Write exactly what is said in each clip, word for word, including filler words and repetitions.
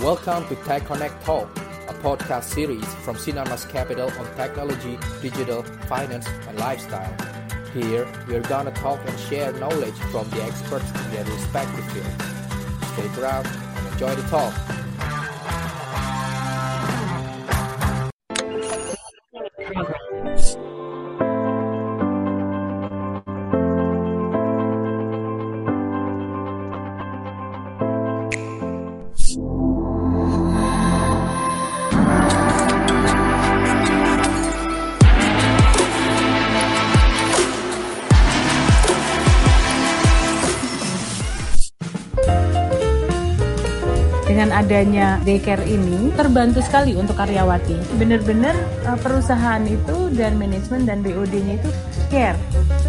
Welcome to Tech Connect Talk, a podcast series from Sinarmas Capital on technology, digital, finance, and lifestyle. Here, we're gonna talk and share knowledge from the experts in their respective fields. Stay around and enjoy the talk. Dengan adanya daycare ini, terbantu sekali untuk karyawati. Benar-benar uh, perusahaan itu dan manajemen dan B O D-nya itu care.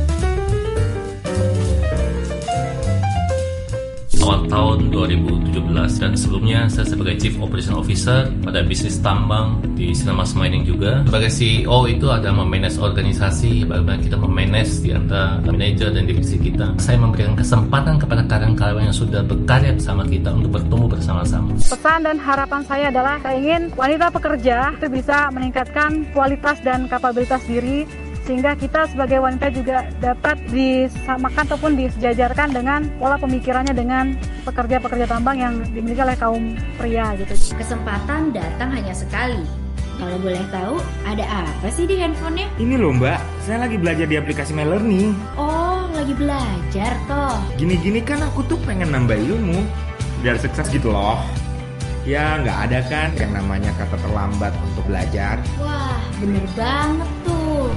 Awal tahun dua ribu tujuh belas dan sebelumnya saya sebagai Chief Operation Officer pada bisnis tambang di Sinarmas Mining juga. Sebagai C E O itu ada memanage organisasi, bagaimana kita memanage di antara manajer dan divisi kita. Saya memberikan kesempatan kepada karyawan-karyawan yang sudah berkarya bersama kita untuk bertemu bersama-sama. Pesan dan harapan saya adalah saya ingin wanita pekerja itu bisa meningkatkan kualitas dan kapabilitas diri, sehingga kita sebagai wanita juga dapat disamakan ataupun disejajarkan dengan pola pemikirannya dengan pekerja-pekerja tambang yang dimiliki oleh kaum pria gitu. Kesempatan datang hanya sekali. Kalau boleh tahu, ada apa sih di handphonenya? Ini loh mbak, saya lagi belajar di aplikasi MyLearning. Oh, lagi belajar toh. Gini-gini kan aku tuh pengen nambah ilmu biar sukses gitu loh. Ya nggak ada kan yang namanya kata terlambat untuk belajar. Wah, bener banget tuh.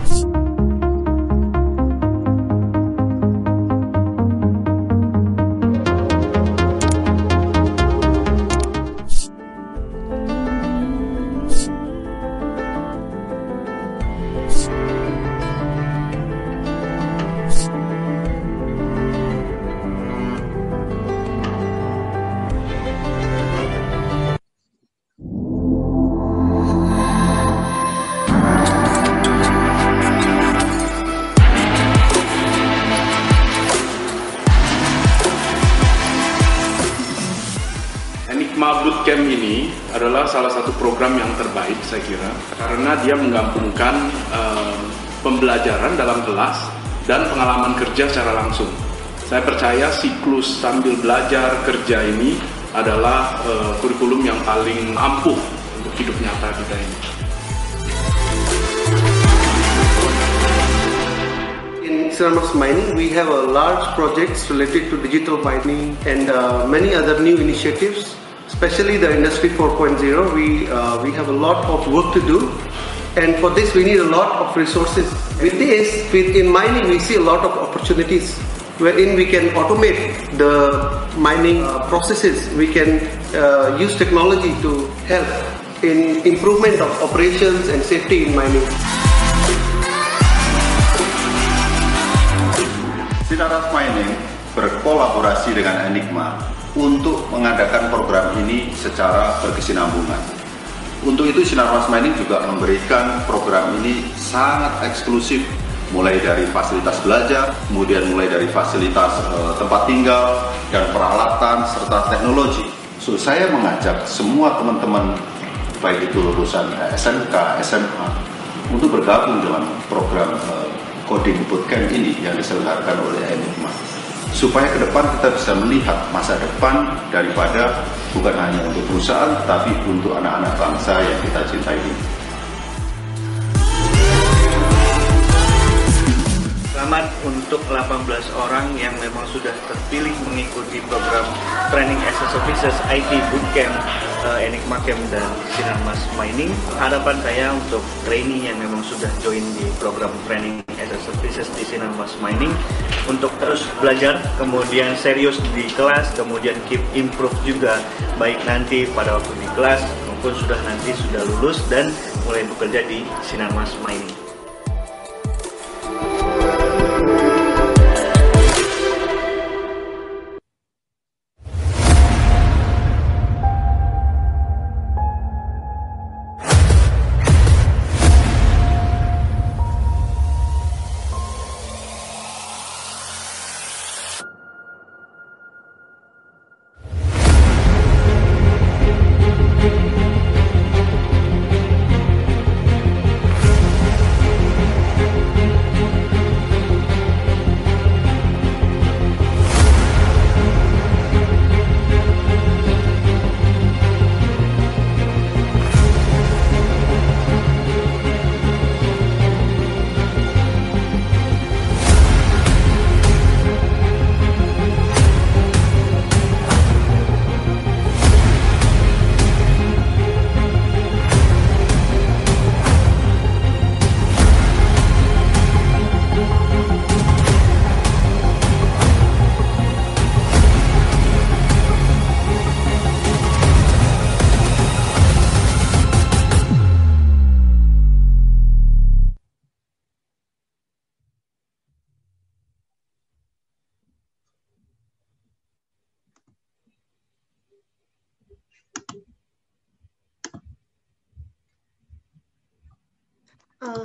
Enigma Bootcamp ini adalah salah satu program yang terbaik saya kira karena dia menggabungkan uh, pembelajaran dalam kelas dan pengalaman kerja secara langsung. Saya percaya siklus sambil belajar kerja ini adalah uh, kurikulum yang paling ampuh untuk hidup nyata kita ini. In Sinarmas Mining, we have a large projects related to digital mining and uh, many other new initiatives. Especially the Industry four point oh, we uh, we have a lot of work to do, and for this we need a lot of resources. With this, with in mining, we see a lot of opportunities, wherein we can automate the mining uh, processes. We can uh, use technology to help in improvement of operations and safety in mining. Sinarmas Mining berkolaborasi dengan Enigma untuk mengadakan program ini secara berkesinambungan. Untuk itu Sinarmas Mining juga memberikan program ini sangat eksklusif, mulai dari fasilitas belajar, kemudian mulai dari fasilitas e, tempat tinggal dan peralatan serta teknologi. So saya mengajak semua teman-teman baik itu lulusan S M K, S M A untuk bergabung dalam program e, Coding Bootcamp ini yang diselenggarakan oleh Enigma, supaya ke depan kita bisa melihat masa depan daripada bukan hanya untuk perusahaan, tapi untuk anak-anak bangsa yang kita cintai ini. Selamat untuk delapan belas orang yang memang sudah terpilih mengikuti program Training as a Services I T Bootcamp uh, Enigma Camp dan Sinarmas Mining. Harapan saya untuk trainee yang memang sudah join di program Training as a Services di Sinarmas Mining untuk terus belajar, kemudian serius di kelas, kemudian keep improve juga, baik nanti pada waktu di kelas maupun sudah nanti sudah lulus dan mulai bekerja di Sinarmas Mining.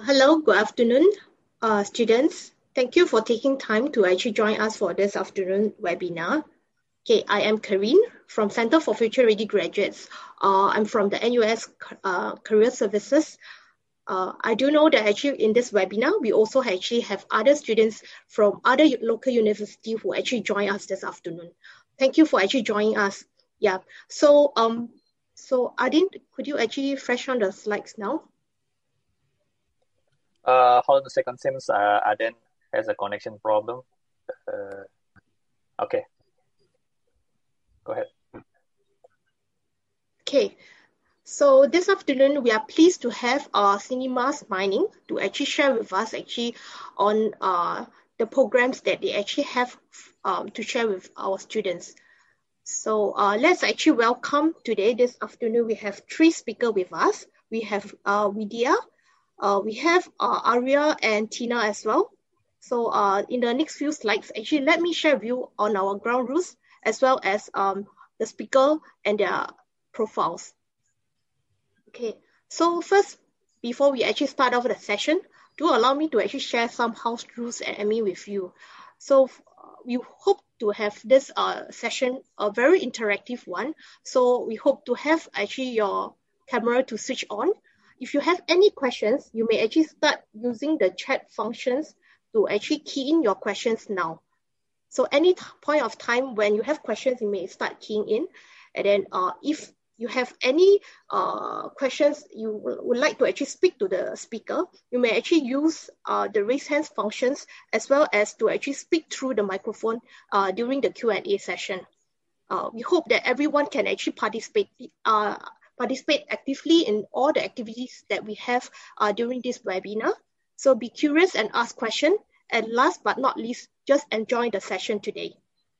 hello, good afternoon, uh, students. Thank you for taking time to actually join us for this afternoon webinar. Okay, I am Karine from Center for Future Ready Graduates. Uh, I'm from the N U S uh, Career Services. Uh, I do know that actually in this webinar, we also actually have other students from other local universities who actually join us this afternoon. Thank you for actually joining us. Yeah, so um, so Adin, could you actually fresh on the slides now? Uh, hold on a second, seems uh, Aden has a connection problem. Uh, okay, go ahead. Okay, so this afternoon we are pleased to have uh, Cinemas Mining to actually share with us actually on uh, the programs that they actually have um, to share with our students. So uh, let's actually welcome today, this afternoon, we have three speakers with us. We have uh, Vidya, Uh, we have uh, Arya and Tina as well. So uh, in the next few slides, actually, let me share with you on our ground rules as well as um, the speaker and their profiles. Okay, so first, before we actually start off the session, do allow me to actually share some house rules and admin with you. So uh, we hope to have this uh, session a very interactive one. So we hope to have actually your camera to switch on. If you have any questions, you may actually start using the chat functions to actually key in your questions now. So any point of time when you have questions, you may start keying in. And then uh, if you have any uh, questions you would like to actually speak to the speaker, you may actually use uh, the raise hands functions as well as to actually speak through the microphone uh, during the Q and A session. Uh, we hope that everyone can actually participate uh, participate actively in all the activities that we have uh, during this webinar. So be curious and ask questions. And last but not least, just enjoy the session today.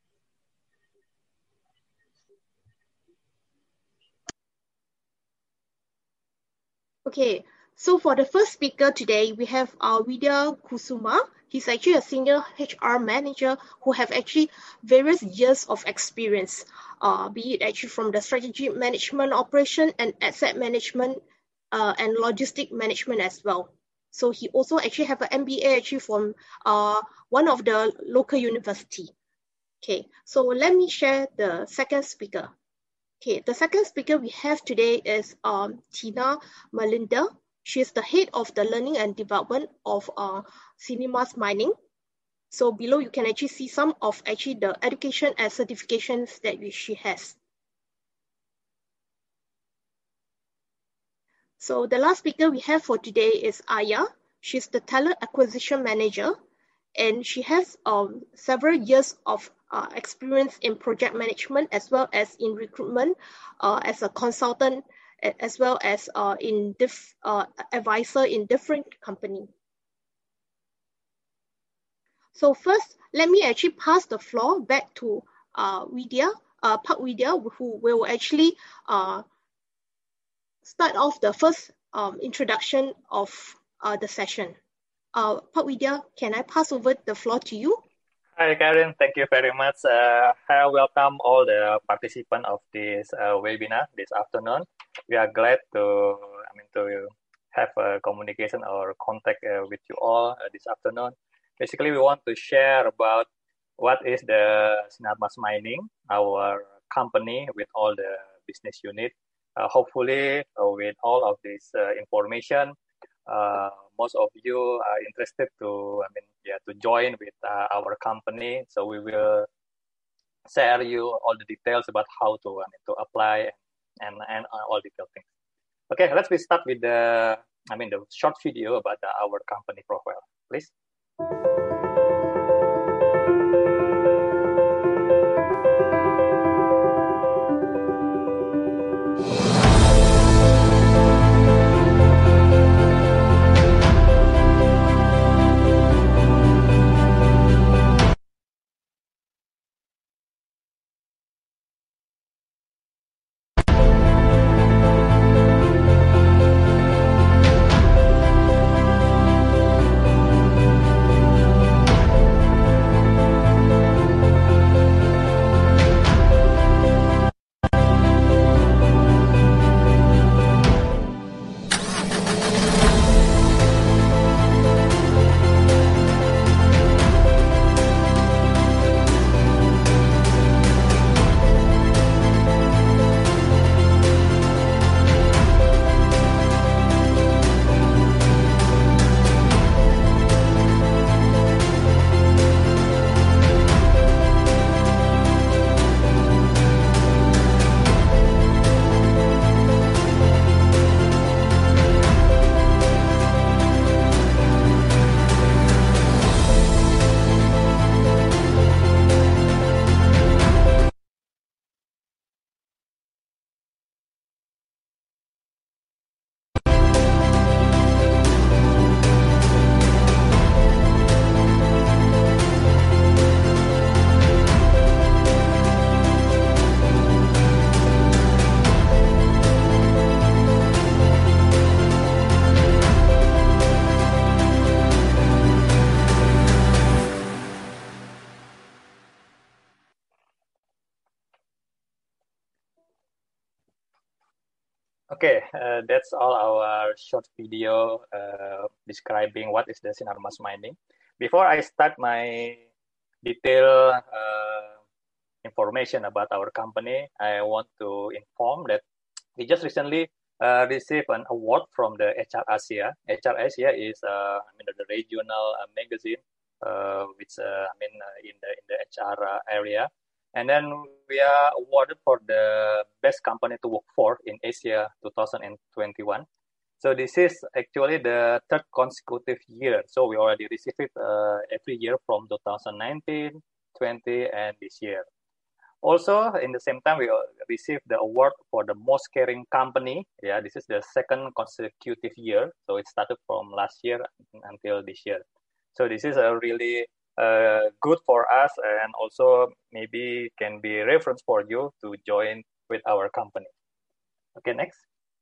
Okay, so for the first speaker today, we have uh, Vidya Kusuma. He's actually a senior H R manager who have actually various years of experience, uh, be it actually from the strategy management, operation and asset management uh, and logistic management as well. So he also actually have an M B A actually from uh, one of the local university. Okay, so let me share the second speaker. Okay, the second speaker we have today is um, Tina Melinda. She is the head of the learning and development of uh, Cinemas Mining. So below you can actually see some of actually the education and certifications that she has. So the last speaker we have for today is Aya. She's the talent acquisition manager, and she has um, several years of uh, experience in project management as well as in recruitment uh, as a consultant, as well as uh, in diff, uh, advisor in different companies. So first, let me actually pass the floor back to uh, Vidya, uh, Pak Vidya, who will actually uh, start off the first um, introduction of uh, the session. Uh, Pak Vidya, can I pass over the floor to you? Hi, Karen. Thank you very much. Uh, I welcome all the participants of this uh, webinar this afternoon. We are glad to, I mean, to have a communication or contact uh, with you all uh, this afternoon. Basically, we want to share about what is the Sinarmas Mining, our company with all the business unit. Uh, hopefully, uh, with all of this uh, information, uh, most of you are interested to, I mean, yeah, to join with uh, our company. So we will share you all the details about how to, I mean, to apply and and uh, all detailed things. Okay, let's we start with the, I mean, the short video about the, our company profile, please. Okay, uh, that's all our short video uh, describing what is the Sinarmas mining. Before I start my detailed uh, information about our company, I want to inform that we just recently uh, received an award from the H R Asia. H R Asia is, uh, I mean, the regional uh, magazine, uh, which uh, I mean, uh, in the in the H R uh, area. And then we are awarded for the best company to work for in Asia twenty twenty-one. So this is actually the third consecutive year. So we already received it uh, every year from twenty nineteen, twenty, and this year. Also, in the same time, we received the award for the most caring company. Yeah, this is the second consecutive year. So it started from last year until this year. So this is a really uh, good for us, and also maybe can be reference for you to join with our company. Okay, next.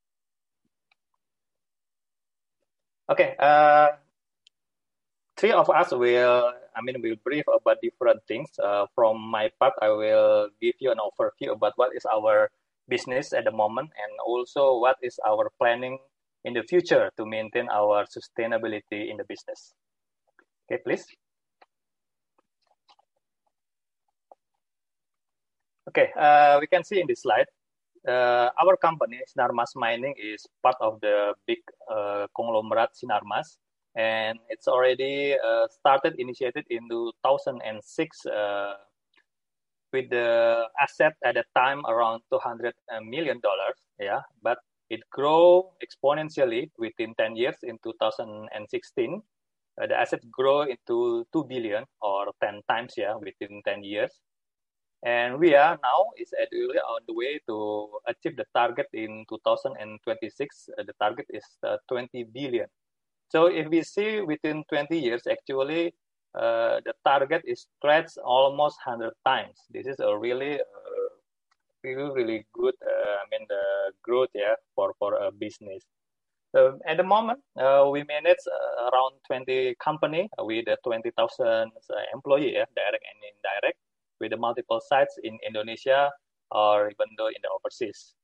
Okay, uh, three of us will, I mean, will brief about different things. Uh, from my part, I will give you an overview about what is our business at the moment, and also what is our planning in the future to maintain our sustainability in the business. Okay, please. Okay, uh, we can see in this slide, uh, our company, Sinarmas Mining, is part of the big uh, conglomerate Sinarmas, and it's already uh, started, initiated in two thousand six uh, with the asset at the time around two hundred million dollars, yeah, but it grew exponentially within ten years. In two thousand sixteen. Uh, the asset grow into two billion or ten times, yeah, within ten years. And we are now is actually on the way to achieve the target in two thousand twenty-six. Uh, the target is uh, twenty billion. So if we see within twenty years, actually, uh, the target is stretched almost one hundred times. This is a really, uh, really, really good, uh, I mean, the growth, yeah, for, for a business. So at the moment, uh, we manage uh, around twenty company with uh, twenty thousand uh, employees, yeah, direct and indirect, with the multiple sites in Indonesia or even though in the overseas.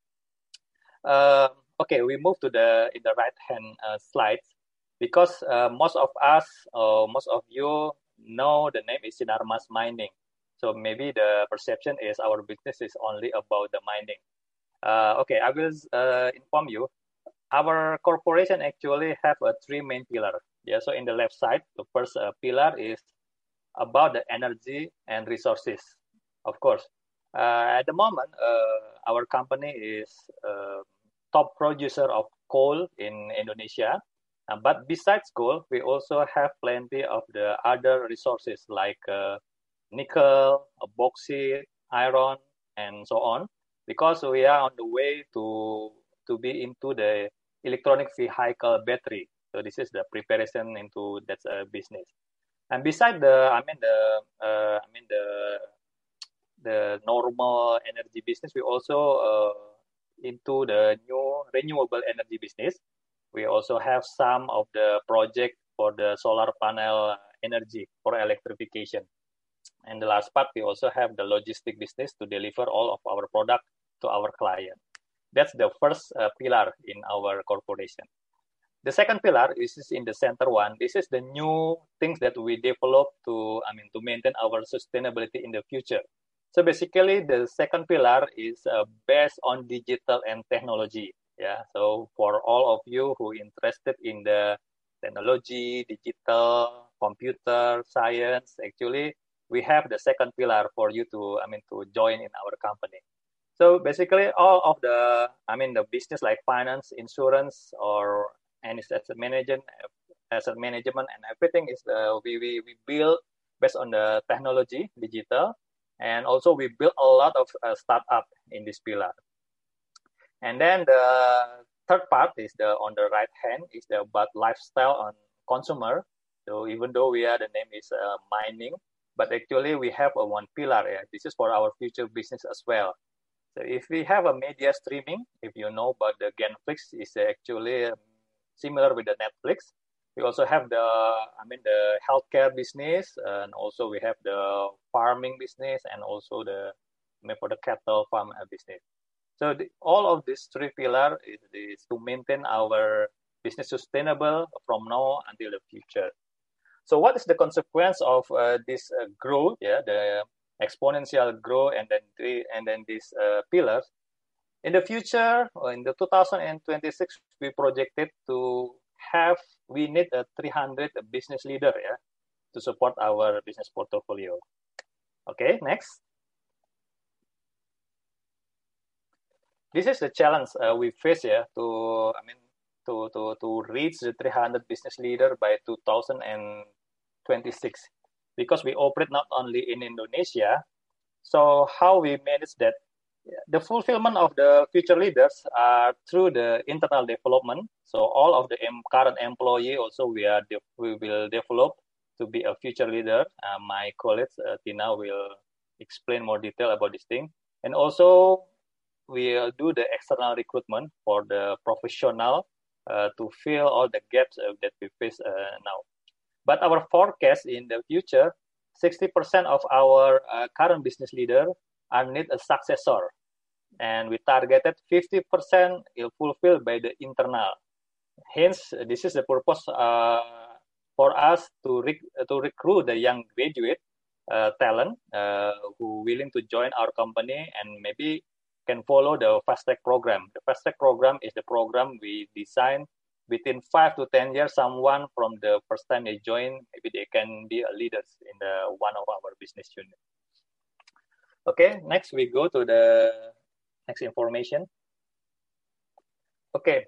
Uh, okay, we move to the in the right hand uh, slide, because uh, most of us or most of you know the name is Sinarmas Mining. So maybe the perception is our business is only about the mining. Uh, okay, I will uh, inform you. Our corporation actually have a three main pillar. Yeah, so in the left side, the first uh, pillar is about the energy and resources. Of course, uh, at the moment, uh, our company is uh, top producer of coal in Indonesia. Uh, but besides coal, we also have plenty of the other resources like uh, nickel, bauxite, iron, and so on, because we are on the way to to be into the electronic vehicle battery. So this is the preparation into that uh, business. And beside the, I mean the, uh, I mean the, the normal energy business, we also uh, into the new renewable energy business. We also have some of the project for the solar panel energy for electrification. And the last part, we also have the logistic business to deliver all of our product to our client. That's the first uh, pillar in our corporation. The second pillar is in the center one. This is the new things that we develop to, I mean, to maintain our sustainability in the future. So basically, the second pillar is uh, based on digital and technology. Yeah. So for all of you who interested in the technology, digital, computer science, actually, we have the second pillar for you to, I mean, to join in our company. So basically, all of the, I mean, the business like finance, insurance, or any asset management, asset management, and everything is uh, we, we we build based on the technology, digital, and also we build a lot of uh, startup in this pillar. And then the third part is the on the right hand is the about lifestyle on consumer. So even though we are the name is uh, mining, but actually we have a one pillar. Yeah? This is for our future business as well. So if we have a media streaming, if you know about the Genflix, is actually um, similar with the Netflix. We also have the, I mean, the healthcare business, and also we have the farming business, and also the, I mean, for the cattle farm business. So the, all of these three pillars is, is to maintain our business sustainable from now until the future. So what is the consequence of uh, this uh, growth? Yeah, the exponential growth, and then three, and then these uh, pillars. In the future, in the two thousand twenty-six, we projected to have we need a three hundred business leader, yeah, to support our business portfolio. Okay, next. This is the challenge uh, we face, yeah, to I mean to to to reach the three hundred business leader by two thousand twenty-six, because we operate not only in Indonesia. So how we manage that? The fulfillment of the future leaders are through the internal development. So all of the em- current employee also we are de- we will develop to be a future leader. Uh, my colleague uh, Tina will explain more detail about this thing. And also we will do the external recruitment for the professional uh, to fill all the gaps uh, that we face uh, now. But our forecast in the future, sixty percent of our uh, current business leader are need a successor. And we targeted fifty percent will fulfilled by the internal. Hence, this is the purpose uh, for us to rec- to recruit the young graduate uh, talent uh, who willing to join our company and maybe can follow the fast track program. The fast track program is the program we design within five to ten years. Someone from the first time they join, maybe they can be a leaders in the one of our business unit. Okay, next we go to the next information. Okay.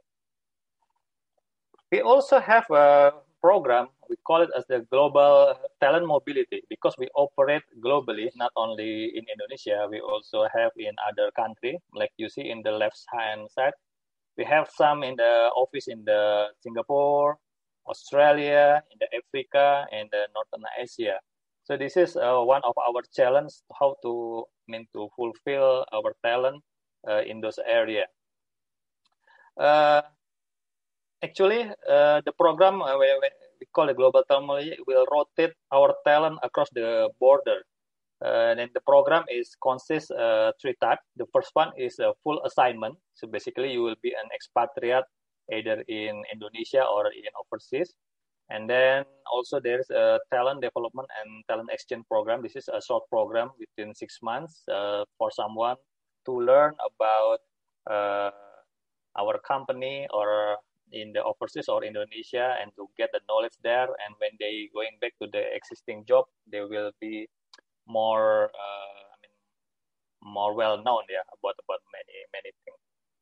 We also have a program, we call it as the Global Talent Mobility, because we operate globally, not only in Indonesia, we also have in other countries, like you see in the left-hand side. We have some in the office in the Singapore, Australia, in the Africa, and the Northern Asia. So this is uh, one of our challenge, how to I mean to fulfill our talent uh, in those areas. Uh, actually, uh, the program uh, we, we call it Global Talent Mobility will rotate our talent across the border. Uh, and the program is consists uh, three types. The first one is a full assignment. So basically, you will be an expatriate either in Indonesia or in overseas. And then also there's a talent development and talent exchange program. This is a short program within six months uh, for someone to learn about uh, our company or in the overseas or Indonesia and to get the knowledge there. And when they going back to the existing job, they will be more, uh, I mean, more well known, yeah, about about many many things.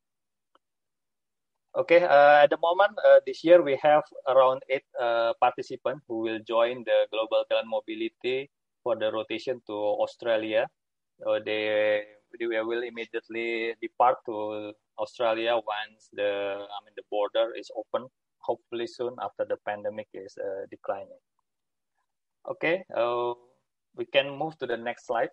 Okay, uh, at the moment, uh, this year we have around eight uh, participants who will join the Global Talent Mobility for the rotation to Australia. Uh, they, they will immediately depart to Australia once the I mean the border is open, hopefully soon after the pandemic is uh, declining. Okay, uh, we can move to the next slide.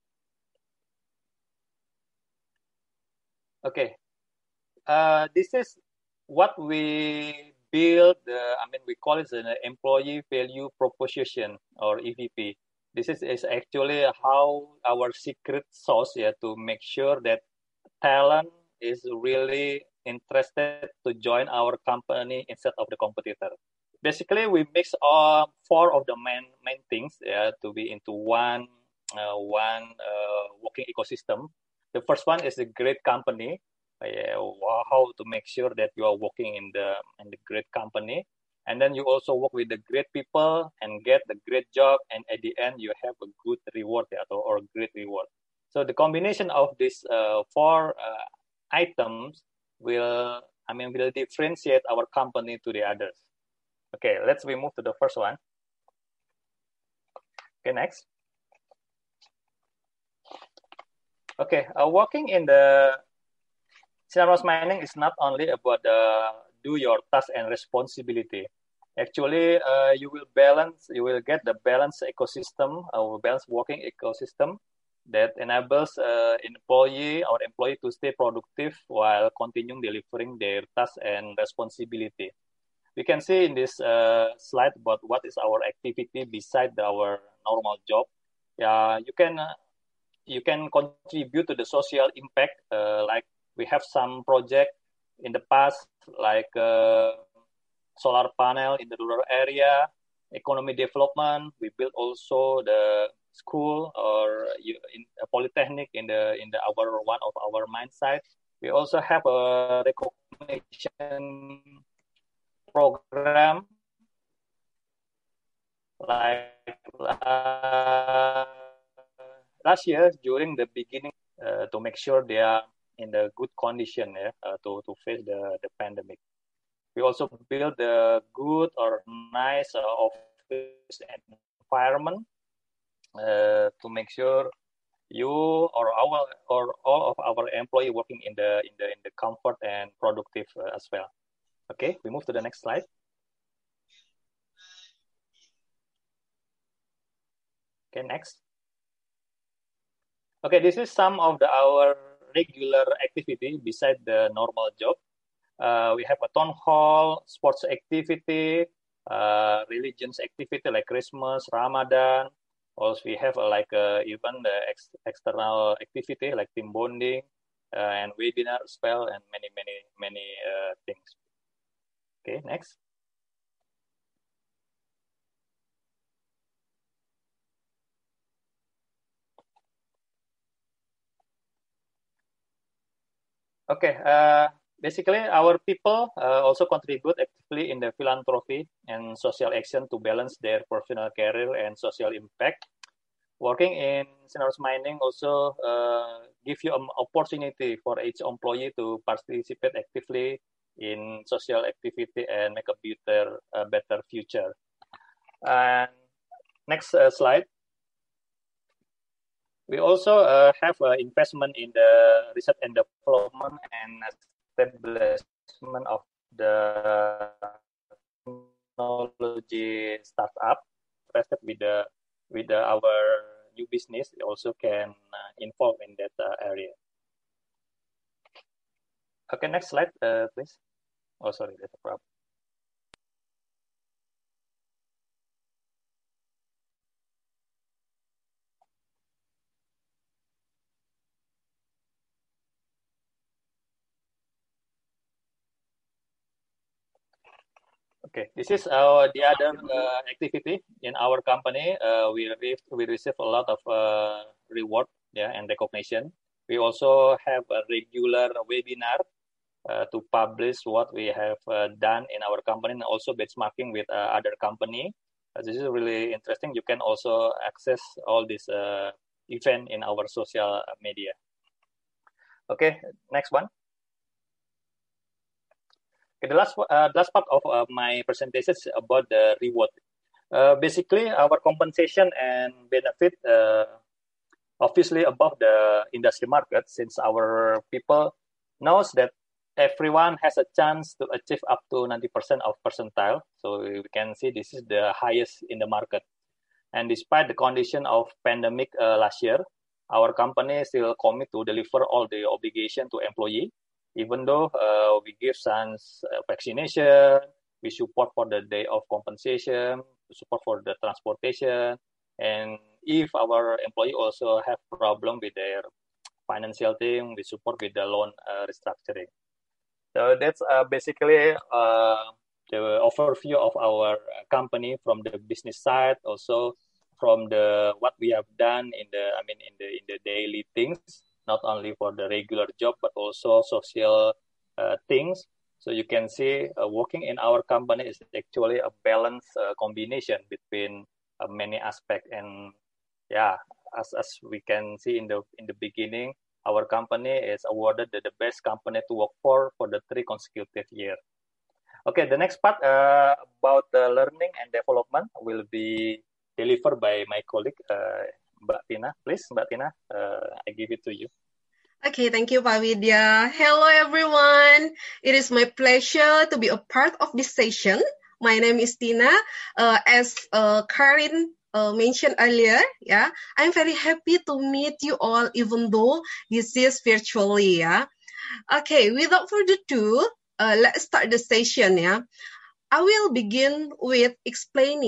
Okay. Uh, this is what we build, uh, I mean, we call it an employee value proposition or E V P. This is, is actually how our secret sauce, yeah, to make sure that talent is really interested to join our company instead of the competitor. Basically, we mix all four of the main main things, yeah, to be into one uh, one uh, working ecosystem. The first one is a great company. Uh, how to make sure that you are working in the in the great company, and then you also work with the great people and get the great job, and at the end you have a good reward, yeah, or, or great reward. So the combination of these uh, four uh, items will, I mean, will differentiate our company to the others. Okay, let's we move to the first one. Okay, next. Okay, uh, working in the Synarmas Mining is not only about uh, do your task and responsibility. Actually, uh, you will balance, you will get the balanced ecosystem, or balanced working ecosystem that enables uh, employee or employee to stay productive while continuing delivering their tasks and responsibility. We can see in this uh, slide about what is our activity beside our normal job. Yeah, you can uh, you can contribute to the social impact, uh, like we have some project in the past, like uh, solar panel in the rural area, economy development. We built also the school or in a polytechnic in the in the our one of our mine sites. We also have a recognition program like uh, last year during the beginning uh, to make sure they are in the good condition yeah, uh, to to face the the pandemic. We also build a good or nice uh, office environment uh, to make sure you or our or all of our employee working in the in the in the comfort and productive uh, as well. Okay, we move to the next slide. Okay, next. Okay, this is some of the our regular activity beside the normal job. Uh, we have a town hall, sports activity, uh, religions activity like Christmas, Ramadan. Also, we have uh, like uh, even the ex external activity like team bonding uh, and webinar as well, and many, many, many uh, things. Okay, next. Okay, uh, basically our people uh, also contribute actively in the philanthropy and social action to balance their personal career and social impact. Working in Sinarmas Mining also uh, give you an opportunity for each employee to participate actively in social activity and make a better, uh, better future. And next uh, slide. We also uh, have uh, investment in the research and development and establishment of the technology startup. Interested with the with the, our new business, also can uh, involve in that uh, area. Okay, next slide, uh, please. Oh, sorry, that's a problem. Okay, this is our the other uh, activity in our company. Uh, we receive we receive a lot of uh, reward, yeah, and recognition. We also have a regular webinar uh, to publish what we have uh, done in our company, and also benchmarking with uh, other company. Uh, this is really interesting. You can also access all this uh, event in our social media. Okay, next one. Okay, the last uh, last part of uh, my presentation is about the reward. Uh, basically, our compensation and benefit uh, obviously above the industry market, since our people knows that everyone has a chance to achieve up to ninety percent of percentile. So we can see this is the highest in the market. And despite the condition of pandemic uh, last year, our company still commit to deliver all the obligation to employee. Even though uh, we give some uh, vaccination, we support for the day of compensation, support for the transportation, and if our employee also have problem with their financial thing, we support with the loan uh, restructuring. So that's uh, basically uh, the overview of our company from the business side, also from the what we have done in the I mean in the in the daily things. Not only for the regular job, but also social uh, things. So you can see uh, working in our company is actually a balanced uh, combination between uh, many aspects. And yeah, as as we can see in the in the beginning, our company is awarded the, the best company to work for for the three consecutive years. Okay, the next part uh, about the learning and development will be delivered by my colleague. Uh, Mbak Tina, please, Mbak Tina, uh, I give it to you. Okay, thank you, Pak Widya. Hello, everyone. It is my pleasure to be a part of this session. My name is Tina. Uh, as uh, Karin uh, mentioned earlier, yeah, I'm very happy to meet you all, even though this is virtually, yeah. Okay, without further ado, uh, let's start the session, yeah. I will begin with explaining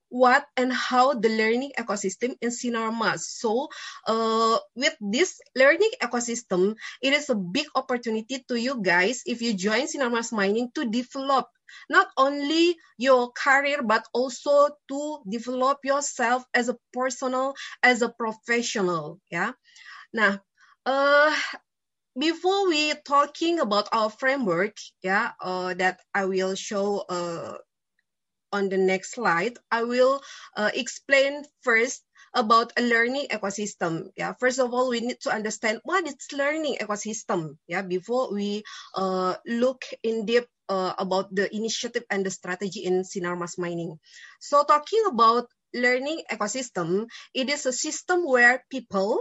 what and how the learning ecosystem in Sinarmas. So uh, with this learning ecosystem, it is a big opportunity to you guys if you join Sinarmas Mining to develop not only your career but also to develop yourself as a personal, as a professional. Yeah. Nah, uh, before we talking about our framework, yeah, uh, that I will show uh, on the next slide, I will uh, explain first about a learning ecosystem. Yeah, first of all, we need to understand what is learning ecosystem. Yeah, before we uh, look in depth uh, about the initiative and the strategy in Sinarmas Mining. So talking about learning ecosystem, it is a system where people,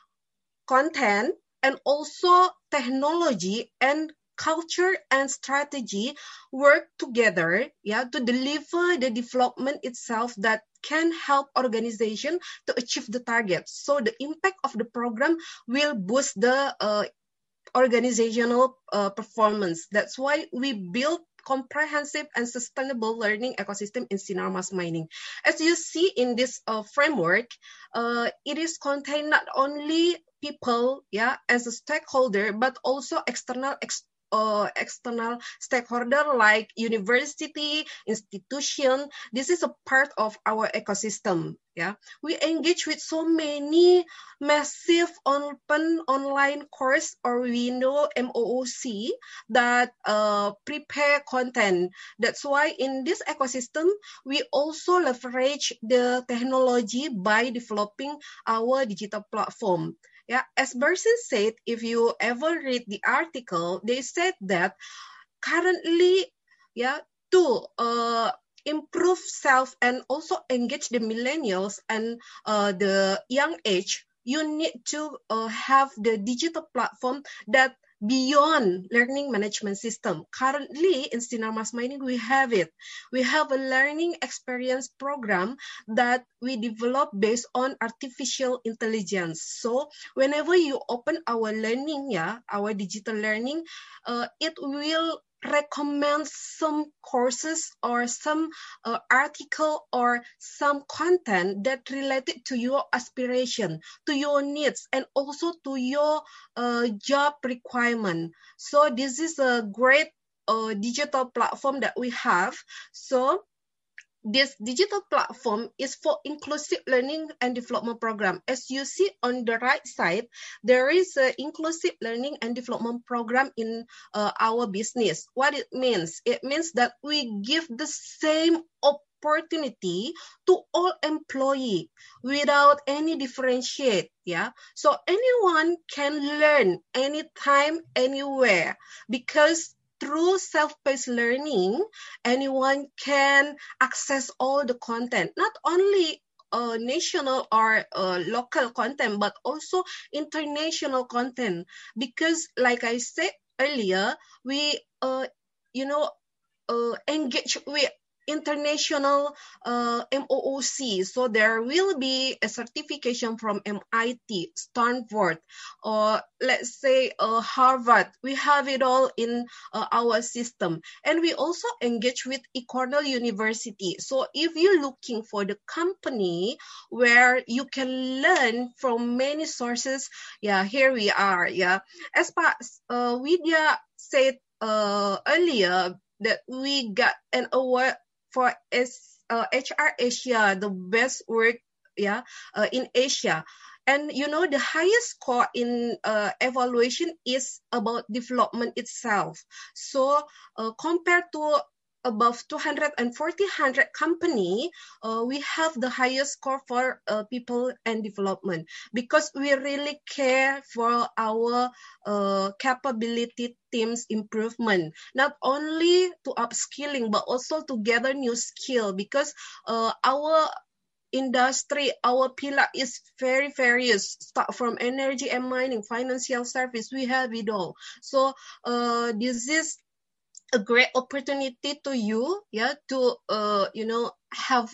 content, and also technology and culture and strategy work together, yeah, to deliver the development itself that can help organization to achieve the targets. So the impact of the program will boost the uh, organizational uh, performance. That's why we build comprehensive and sustainable learning ecosystem in Sinarmas Mining. As you see in this uh, framework, uh, it is contained not only people, yeah, as a stakeholder, but also external ex uh, external stakeholder like university, institution. This is a part of our ecosystem. Yeah, we engage with so many massive open online course, or we know M O O C, that uh, prepare content. That's why in this ecosystem, we also leverage the technology by developing our digital platform. Yeah, as Bersin said, if you ever read the article, they said that currently, yeah, to uh, improve self and also engage the millennials and uh, the young age, you need to uh, have the digital platform that beyond learning management system. Currently in Sinarmas Mining, we have it. We have a learning experience program that we develop based on artificial intelligence. So whenever you open our learning, yeah, our digital learning, uh, it will recommend some courses or some uh, article or some content that related to your aspiration, to your needs, and also to your uh, job requirement. So this is a great uh, digital platform that we have. So this digital platform is for inclusive learning and development program. As you see on the right side, there is an inclusive learning and development program in uh, our business. What it means? It means that we give the same opportunity to all employees without any differentiate. Yeah, so anyone can learn anytime, anywhere, because through self-paced learning, anyone can access all the content, not only uh, national or uh, local content, but also international content. Because like I said earlier, we, uh, you know, uh, engage with international uh, M O O C. So there will be a certification from M I T, Stanford, or let's say uh, Harvard. We have it all in uh, our system. And we also engage with Cornell University. So if you're looking for the company where you can learn from many sources, yeah, here we are. Yeah, as pa, uh, Widya said uh, earlier, that we got an award for uh, H R Asia, the best work, yeah, uh, in Asia. And you know, the highest score in uh, evaluation is about development itself. So uh, compared to above two hundred forty company, uh, we have the highest score for uh, people and development, because we really care for our uh, capability teams improvement, not only to upskilling, but also to gather new skill, because uh, our industry, our pillar is very various, start from energy and mining, financial service, we have it all. So uh, this is a great opportunity to you, yeah, to uh, you know, have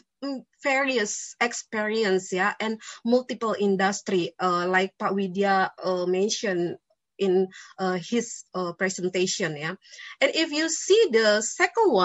various experience, yeah, and multiple industry, uh, like Pak Widya uh, mentioned in uh, his uh, presentation, yeah. And if you see the second one,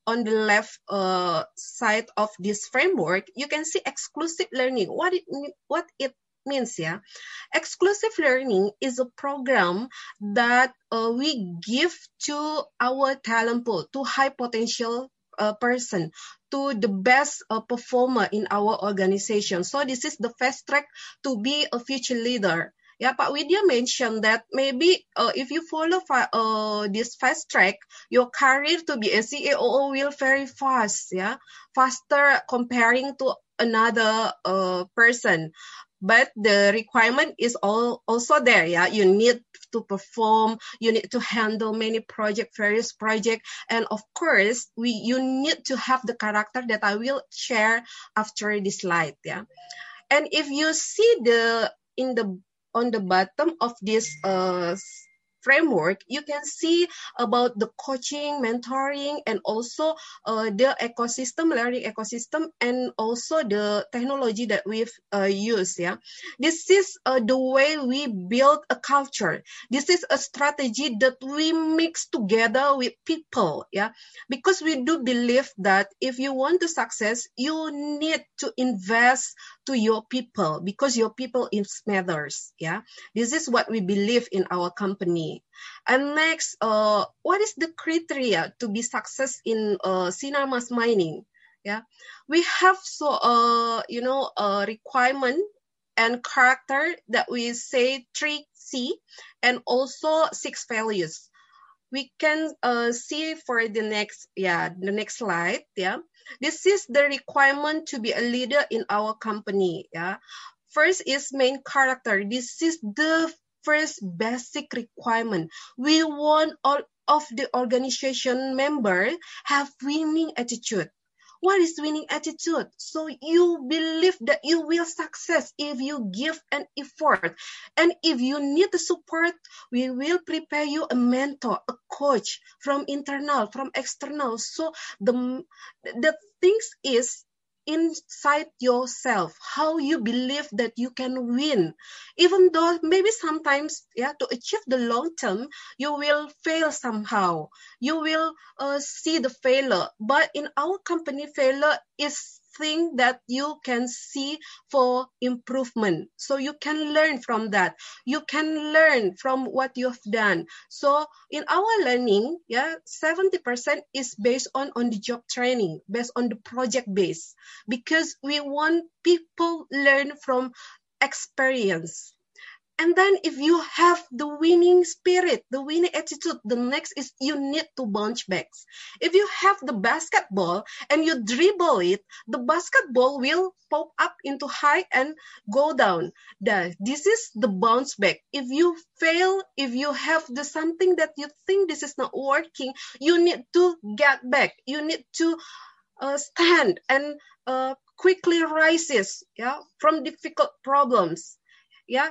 on the left uh, side of this framework, you can see exclusive learning. What it what it means, yeah. Exclusive learning is a program that uh, we give to our talent pool, to high potential uh, person, to the best uh, performer in our organization. So this is the fast track to be a future leader. Yeah, Pak Widya mentioned that maybe uh, if you follow uh, this fast track, your career to be a C A O will very fast, yeah, faster comparing to another uh, person. But the requirement is all also there, yeah. You need to perform, you need to handle many project, various projects, and of course, we you need to have the character that I will share after this slide, yeah. And if you see the in the on the bottom of this uh, framework, you can see about the coaching, mentoring, and also uh, the ecosystem, learning ecosystem, and also the technology that we've uh, used. Yeah, this is uh, the way we build a culture. This is a strategy that we mix together with people. Yeah, because we do believe that if you want to success, you need to invest to your people, because your people is matters. Yeah, this is what we believe in our company. And next, uh, what is the criteria to be success in uh, Sinar Mas Mining? Yeah, we have so uh, you know a requirement and character that we say three C and also six values. We can uh, see for the next yeah the next slide. Yeah, this is the requirement to be a leader in our company. Yeah, first is main character. This is the first basic requirement. We want all of the organization member have winning attitude. What is winning attitude? So you believe that you will success if you give an effort. And if you need the support, we will prepare you a mentor, a coach from internal, from external. So the, the things is inside yourself, how you believe that you can win, even though maybe sometimes, yeah, to achieve the long term, you will fail somehow. You will uh, see the failure, but in our company, failure is thing that you can see for improvement. So you can learn from that. You can learn from what you've done. So in our learning, yeah, seventy percent is based on on the job training, based on the project base, because we want people learn from experience. And then if you have the winning spirit, the winning attitude, the next is you need to bounce back. If you have the basketball and you dribble it, the basketball will pop up into high and go down. That this is the bounce back. If you fail, if you have the something that you think this is not working, you need to get back. You need to uh, stand and uh, quickly rises, yeah, from difficult problems, yeah.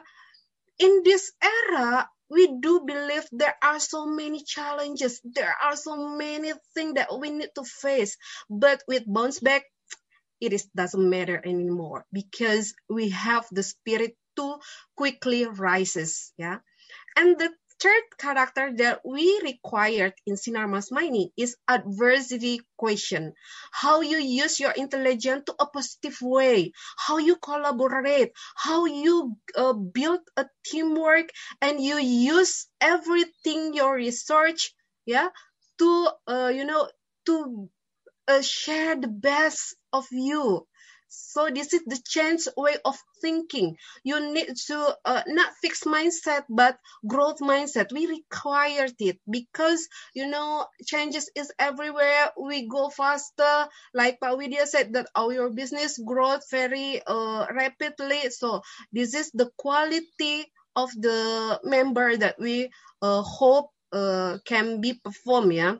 In this era, we do believe there are so many challenges. There are so many things that we need to face. But with bounce back, it is, doesn't matter anymore, because we have the spirit to quickly rises. Yeah, and the third character that we required in Sinar Mas Mining is adversity question. How you use your intelligence to a positive way, how you collaborate, how you uh, build a teamwork, and you use everything your research, yeah, to uh, you know to uh, share the best of you. So this is the change way of thinking. You need to uh, not fixed mindset, but growth mindset. We required it because, you know, changes is everywhere. We go faster. Like Pak Widya said, that our business grows very uh, rapidly. So this is the quality of the member that we uh, hope uh, can be performed, yeah.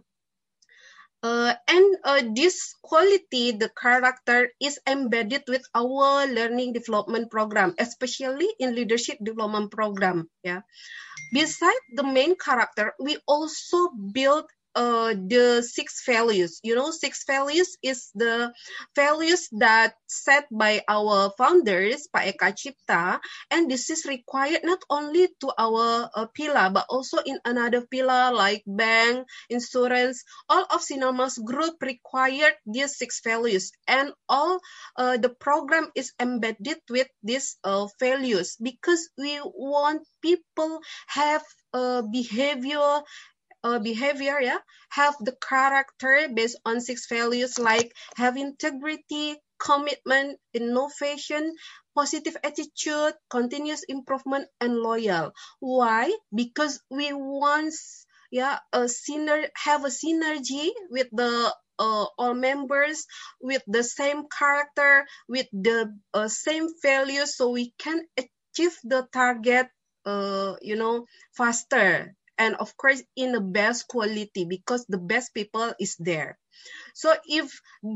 Uh, and uh, this quality, the character, is embedded with our learning development program, especially in leadership development program. Yeah. Besides the main character, we also build uh, the six values. You know, six values is the values that set by our founders, Pak Eka Cipta, and this is required not only to our uh, pillar, but also in another pillar like bank, insurance. All of Sinarmas Group required these six values, and all uh, the program is embedded with these uh, values because we want people have a behavior Uh, behavior, yeah, have the character based on six values like have integrity, commitment, innovation, positive attitude, continuous improvement, and loyal. Why? Because we want, yeah, a syner- have a synergy with the uh, all members with the same character, with the uh, same values, so we can achieve the target, uh, you know, faster. And of course, in the best quality because the best people is there. So if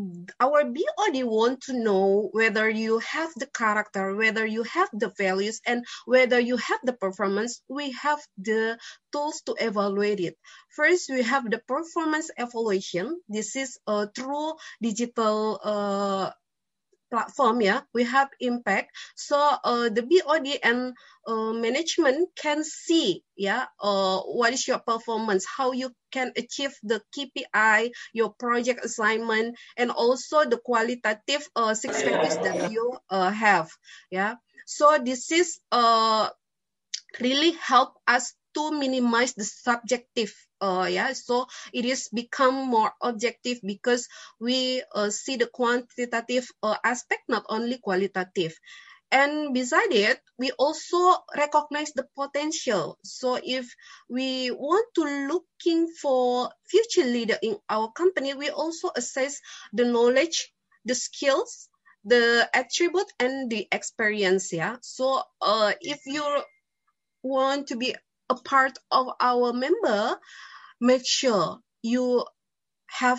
our B O D want to know whether you have the character, whether you have the values, and whether you have the performance, we have the tools to evaluate it. First, we have the performance evaluation. This is a true digital uh, platform, yeah, we have impact. So uh, the B O D and uh, management can see, yeah, uh, what is your performance, how you can achieve the K P I, your project assignment, and also the qualitative uh, six values that you uh, have, yeah. So this is uh, really help us to minimize the subjective, uh, yeah. So it is become more objective because we uh, see the quantitative uh, aspect, not only qualitative. And beside it, we also recognize the potential. So if we want to looking for future leader in our company, we also assess the knowledge, the skills, the attribute, and the experience, yeah. So uh, if you want to be a part of our member, make sure you have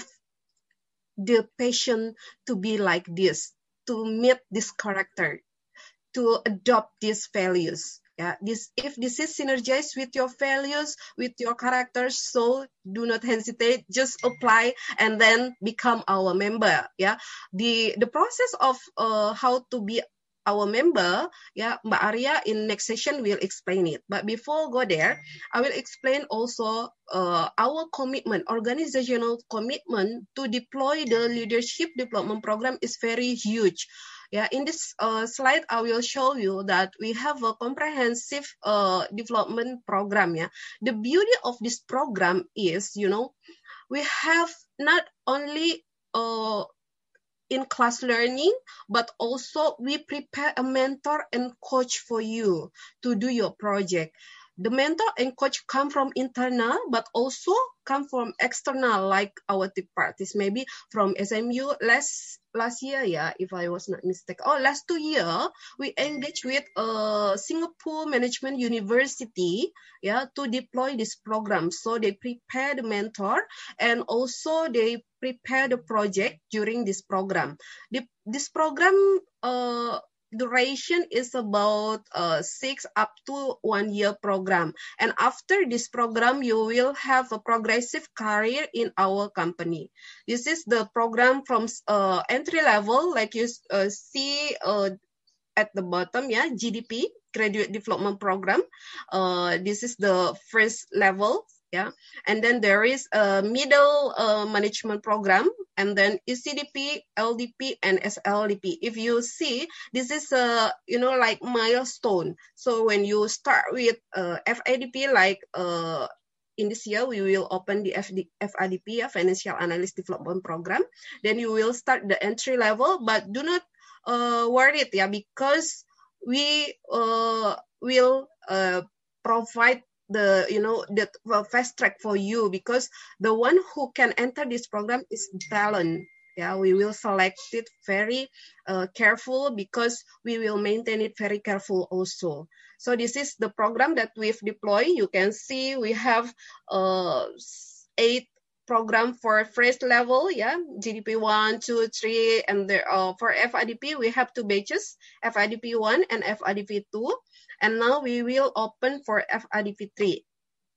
the passion to be like this, to meet this character, to adopt these values. Yeah, this if this is synergized with your values, with your characters, so do not hesitate. Just apply and then become our member. Yeah, the the process of uh, how to be our member, yeah, Mbak Arya in next session will explain it. But before go there, I will explain also uh, our commitment, organizational commitment to deploy the leadership development program is very huge. Yeah, in this uh, slide, I will show you that we have a comprehensive uh, development program. Yeah, the beauty of this program is, you know, we have not only uh, in-class learning, but also we prepare a mentor and coach for you to do your project. The mentor and coach come from internal, but also come from external, like our third parties, maybe from S M U last last year, yeah, if I was not mistaken. Oh, last two year, we engage with uh, Singapore Management University, yeah, to deploy this program. So they prepare the mentor and also they prepare the project during this program. The, this program uh, duration is about uh, six up to one year program. And after this program, you will have a progressive career in our company. This is the program from uh, entry level, like you uh, see uh, at the bottom, yeah, G D P, Graduate Development Program. Uh, this is the first level. Yeah, and then there is a middle uh, management program, and then E C D P, L D P, and S L D P. If you see, this is a, you know, like milestone. So when you start with uh, F I D P, like uh, in this year, we will open the F I D P, yeah, Financial Analyst Development Program. Then you will start the entry level, but do not uh, worry it, yeah, because we uh, will uh, provide the, you know, the fast track for you, because the one who can enter this program is talent. Yeah, we will select it very uh, careful because we will maintain it very careful also. So this is the program that we've deployed. You can see we have uh, eight program for first level, yeah, G D P one, two, three, and there uh, for F I D P we have two batches, F I D P one and F I D P two. And now we will open for F I D P three.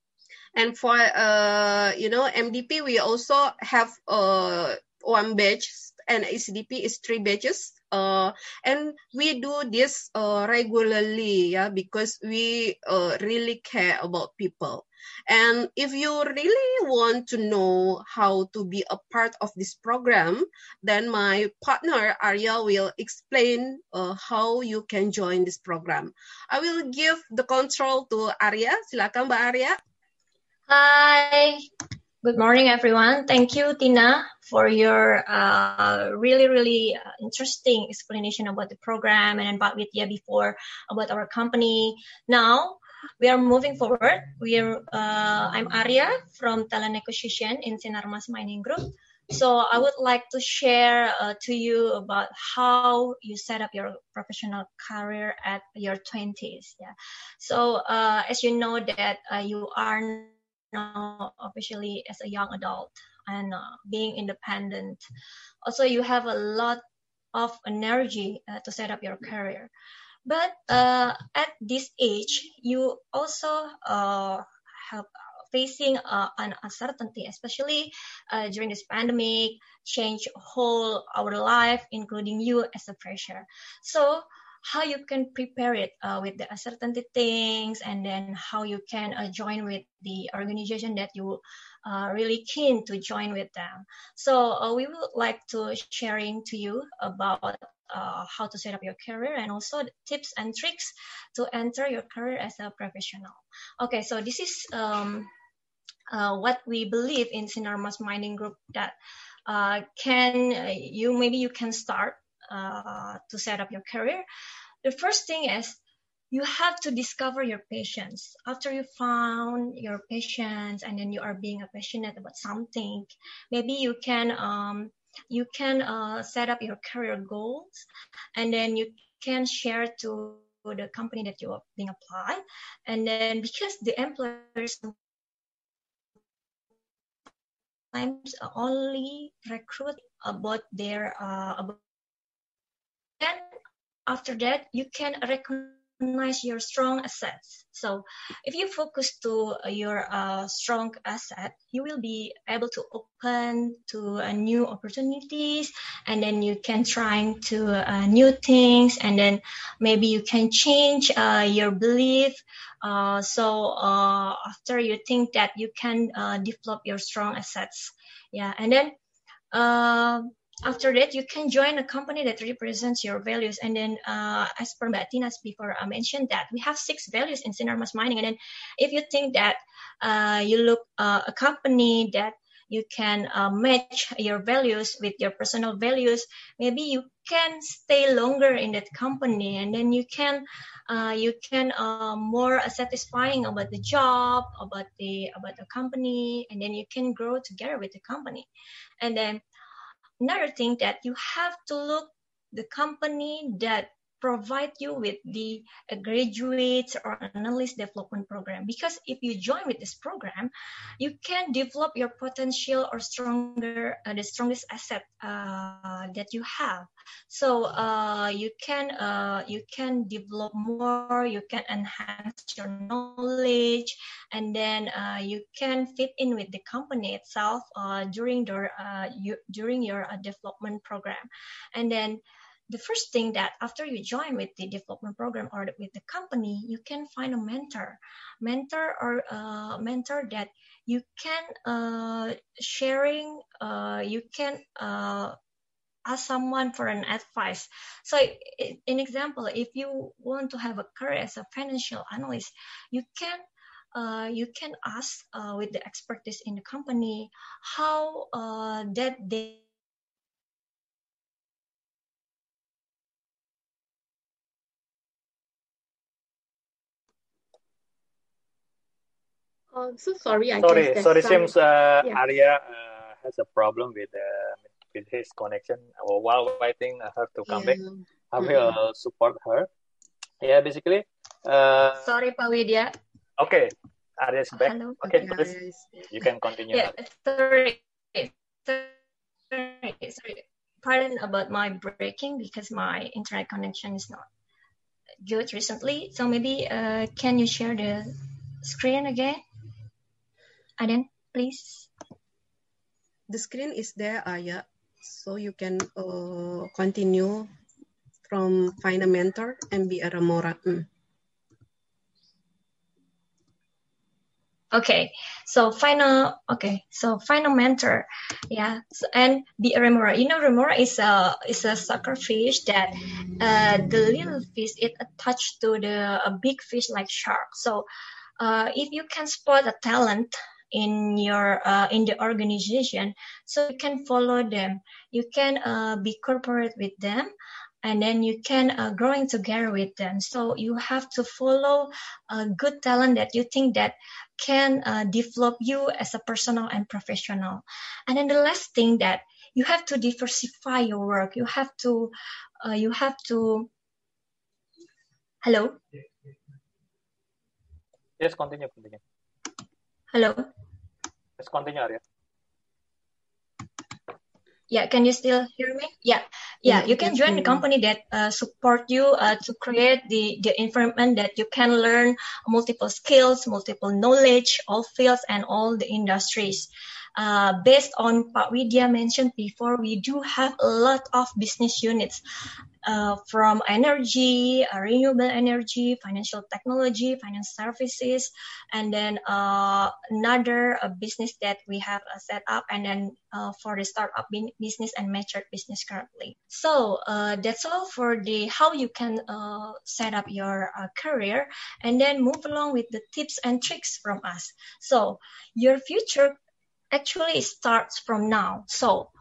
And for, uh, you know, M D P, we also have uh, one batch, and A C D P is three batches. Uh, and we do this uh, regularly, yeah, because we uh, really care about people. And if you really want to know how to be a part of this program, then my partner Arya will explain uh, how you can join this program. I will give the control to Arya. Silakan, Mbak Arya. Hi. Good morning, everyone. Thank you, Tina, for your uh, really, really uh, interesting explanation about the program, and then Pak Widya before about our company. Now, we are moving forward. We are, uh, I'm Arya from Talent Acquisition in Sinarmas Mining Group. So I would like to share uh, to you about how you set up your professional career at your twenties. Yeah. So uh, as you know that uh, you are now officially as a young adult and uh, being independent. Also, you have a lot of energy uh, to set up your career. But uh, at this age, you also uh, have facing uh, an uncertainty, especially uh, during this pandemic, change whole our life, including you as a fresher. So how you can prepare it uh, with the uncertainty things, and then how you can uh, join with the organization that you are uh, really keen to join with them. So uh, we would like to sharing to you about uh, how to set up your career, and also the tips and tricks to enter your career as a professional. Okay, so this is um, uh, what we believe in Sinarmas Mining Group, that uh, can uh, you maybe you can start Uh, to set up your career. The first thing is you have to discover your passions. After you found your passions, and then you are being passionate about something, maybe you can um, you can uh, set up your career goals, and then you can share to the company that you are being applied. And then because the employers sometimes only recruit about their uh, about then after that, you can recognize your strong assets. So if you focus to your uh, strong asset, you will be able to open to uh, new opportunities, and then you can try to uh, new things, and then maybe you can change uh, your belief. Uh, so uh, after you think that you can uh, develop your strong assets. Yeah, and then uh, after that, you can join a company that represents your values. And then, uh, as per Mbak Tina's before I mentioned that we have six values in Sinarmas Mining. And then, if you think that uh, you look uh, a company that you can uh, match your values with your personal values, maybe you can stay longer in that company, and then you can uh, you can uh, more satisfying about the job, about the about the company, and then you can grow together with the company. And then another thing that you have to look the company that provide you with the uh, graduates or analyst development program, because if you join with this program, you can develop your potential or stronger uh, the strongest asset uh, that you have. So uh, you can uh, you can develop more, you can enhance your knowledge, and then uh, you can fit in with the company itself uh, during the uh, you, during your uh, development program. And then the first thing that after you join with the development program or with the company, you can find a mentor, mentor or uh, mentor that you can uh, sharing, uh, you can uh, ask someone for an advice. So in example, if you want to have a career as a financial analyst, you can uh, you can ask uh, with the expertise in the company how uh, that they Oh, so sorry. I sorry, guess sorry. some... Seems uh, yeah. Arya uh, has a problem with uh, with his connection. Well, while waiting her to come Yeah. back, I will mm-hmm. support her. Yeah, basically. Uh, sorry, Pak Widya. Okay, Arya is back. Hello. Okay, okay. please. You can continue. Yeah, sorry. sorry, sorry. Pardon about my breaking because my internet connection is not good recently. So maybe uh, can you share the screen again? Aden, please. The screen is there, Aya, so you can uh, continue from Find a Mentor and be a Remora. Mm. Okay, so final. Okay, so final mentor, yeah, so, and be a remora. You know, remora is a is a sucker fish that uh, the little fish it attached to the a big fish like shark. So, uh, if you can spot a talent in your uh, in the organization, so you can follow them. You can uh, be corporate with them. And then you can uh, growing together with them. So you have to follow a good talent that you think that can uh, develop you as a personal and professional. And then the last thing that you have to diversify your work. You have to, uh, you have to. Hello. Yes, continue, continue. Hello. Let's continue, Arya. Yeah, can you still hear me? Yeah, yeah. You can join the company that uh, support you uh, to create the the environment that you can learn multiple skills, multiple knowledge, all fields and all the industries. Uh, based on Pak Widya mentioned before, we do have a lot of business units. Uh, from energy, uh, renewable energy, financial technology, finance services, and then uh, another uh, business that we have uh, set up, and then uh, for the startup business and matured business currently. So uh, that's all for the how you can uh, set up your uh, career, and then move along with the tips and tricks from us. So your future actually starts from now. So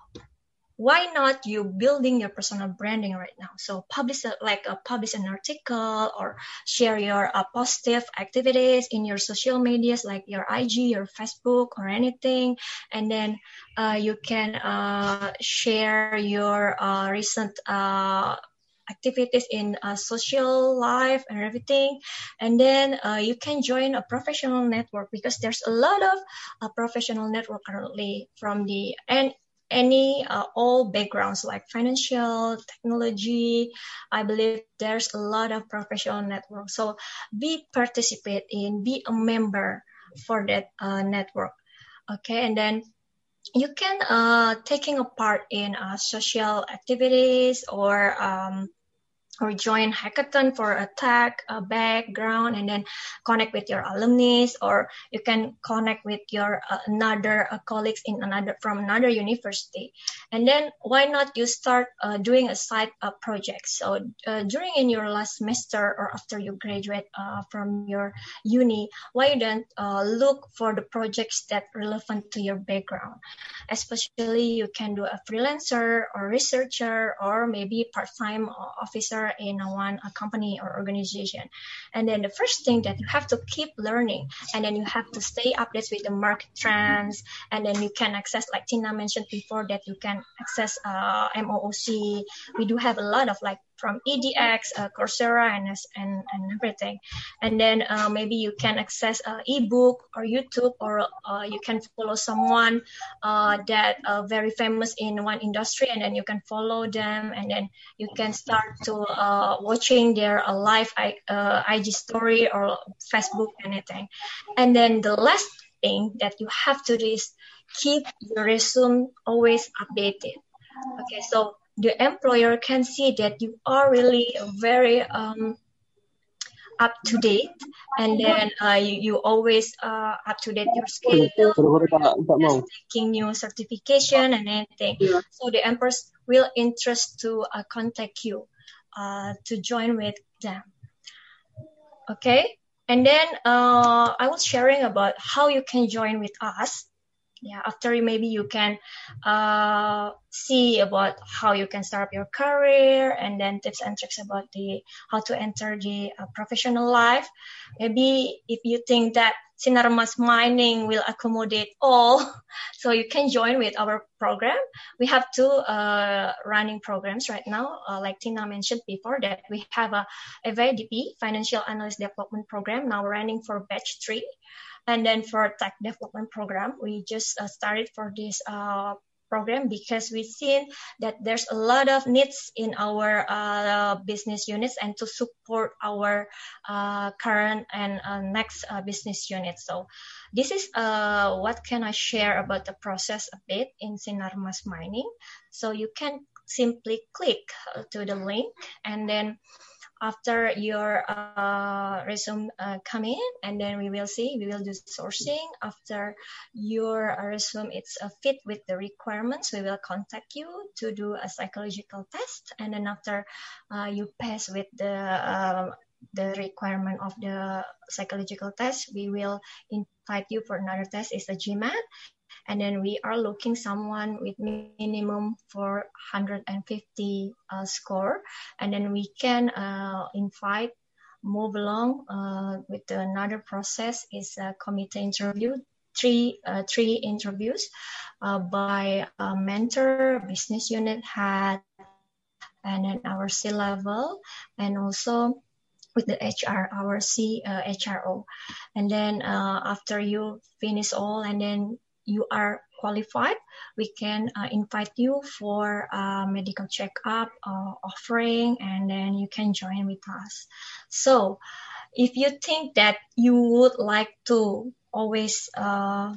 why not you building your personal branding right now? So publish a, like a, publish an article or share your uh, positive activities in your social medias like your I G, your Facebook or anything. And then uh, you can uh, share your uh, recent uh, activities in uh, social life and everything. And then uh, you can join a professional network because there's a lot of uh, professional network currently from the and any uh, all backgrounds like financial, technology. I believe there's a lot of professional network. So be participate in, be a member for that uh, network. Okay, and then you can uh, taking a part in uh, social activities or um, or join hackathon for a tech a background, and then connect with your alumni, or you can connect with your uh, another uh, colleagues in another from another university. And then why not you start uh, doing a side uh, project? So uh, during in your last semester or after you graduate uh, from your uni, why you don't uh, look for the projects that relevant to your background? Especially you can do a freelancer or researcher or maybe part-time officer in a one a company or organization. And then the first thing that you have to keep learning, and then you have to stay updated with the market trends, and then you can access, like Tina mentioned before, that you can access uh, M O O C. We do have a lot of like from E D X, uh, Coursera, and, and and everything. And then uh, maybe you can access uh, ebook or YouTube, or uh, you can follow someone uh, that uh, very famous in one industry, and then you can follow them, and then you can start to uh, watching their uh, live uh, I G story or Facebook, anything. And then the last thing that you have to do is keep your resume always updated. Okay, so the employer can see that you are really very um, up to date, and then uh, you, you always uh, up to date your skills, taking new certification and anything. Yeah. So the employers will interest to uh, contact you uh, to join with them. Okay, and then uh, I was sharing about how you can join with us. Yeah, after maybe you can uh, see about how you can start your career, and then tips and tricks about the how to enter the uh, professional life. Maybe if you think that Sinarmas Mining will accommodate all, so you can join with our program. We have two uh, running programs right now, uh, like Tina mentioned before, that we have a F A D P, Financial Analyst Development Program, now running for batch three. And then for tech development program, we just uh, started for this uh, program because we've seen that there's a lot of needs in our uh, business units and to support our uh, current and uh, next uh, business units. So this is uh, what can I share about the process a bit in Sinarmas Mining. So you can simply click to the link, and then after your uh, resume uh, come in, and then we will see, we will do sourcing. After your resume it's a fit with the requirements, we will contact you to do a psychological test, and then after uh, you pass with the uh, the requirement of the psychological test, we will invite you for another test, is a GMAT. And then we are looking someone with minimum for one hundred fifty uh, score, and then we can uh, invite, move along uh, with another process, is a committee interview, three uh, three interviews uh, by a mentor, business unit head, and then our C level, and also with the H R, our C uh, H R O. And then uh, after you finish all, and then you are qualified, we can uh, invite you for a medical checkup uh, offering, and then you can join with us. So if you think that you would like to always, uh,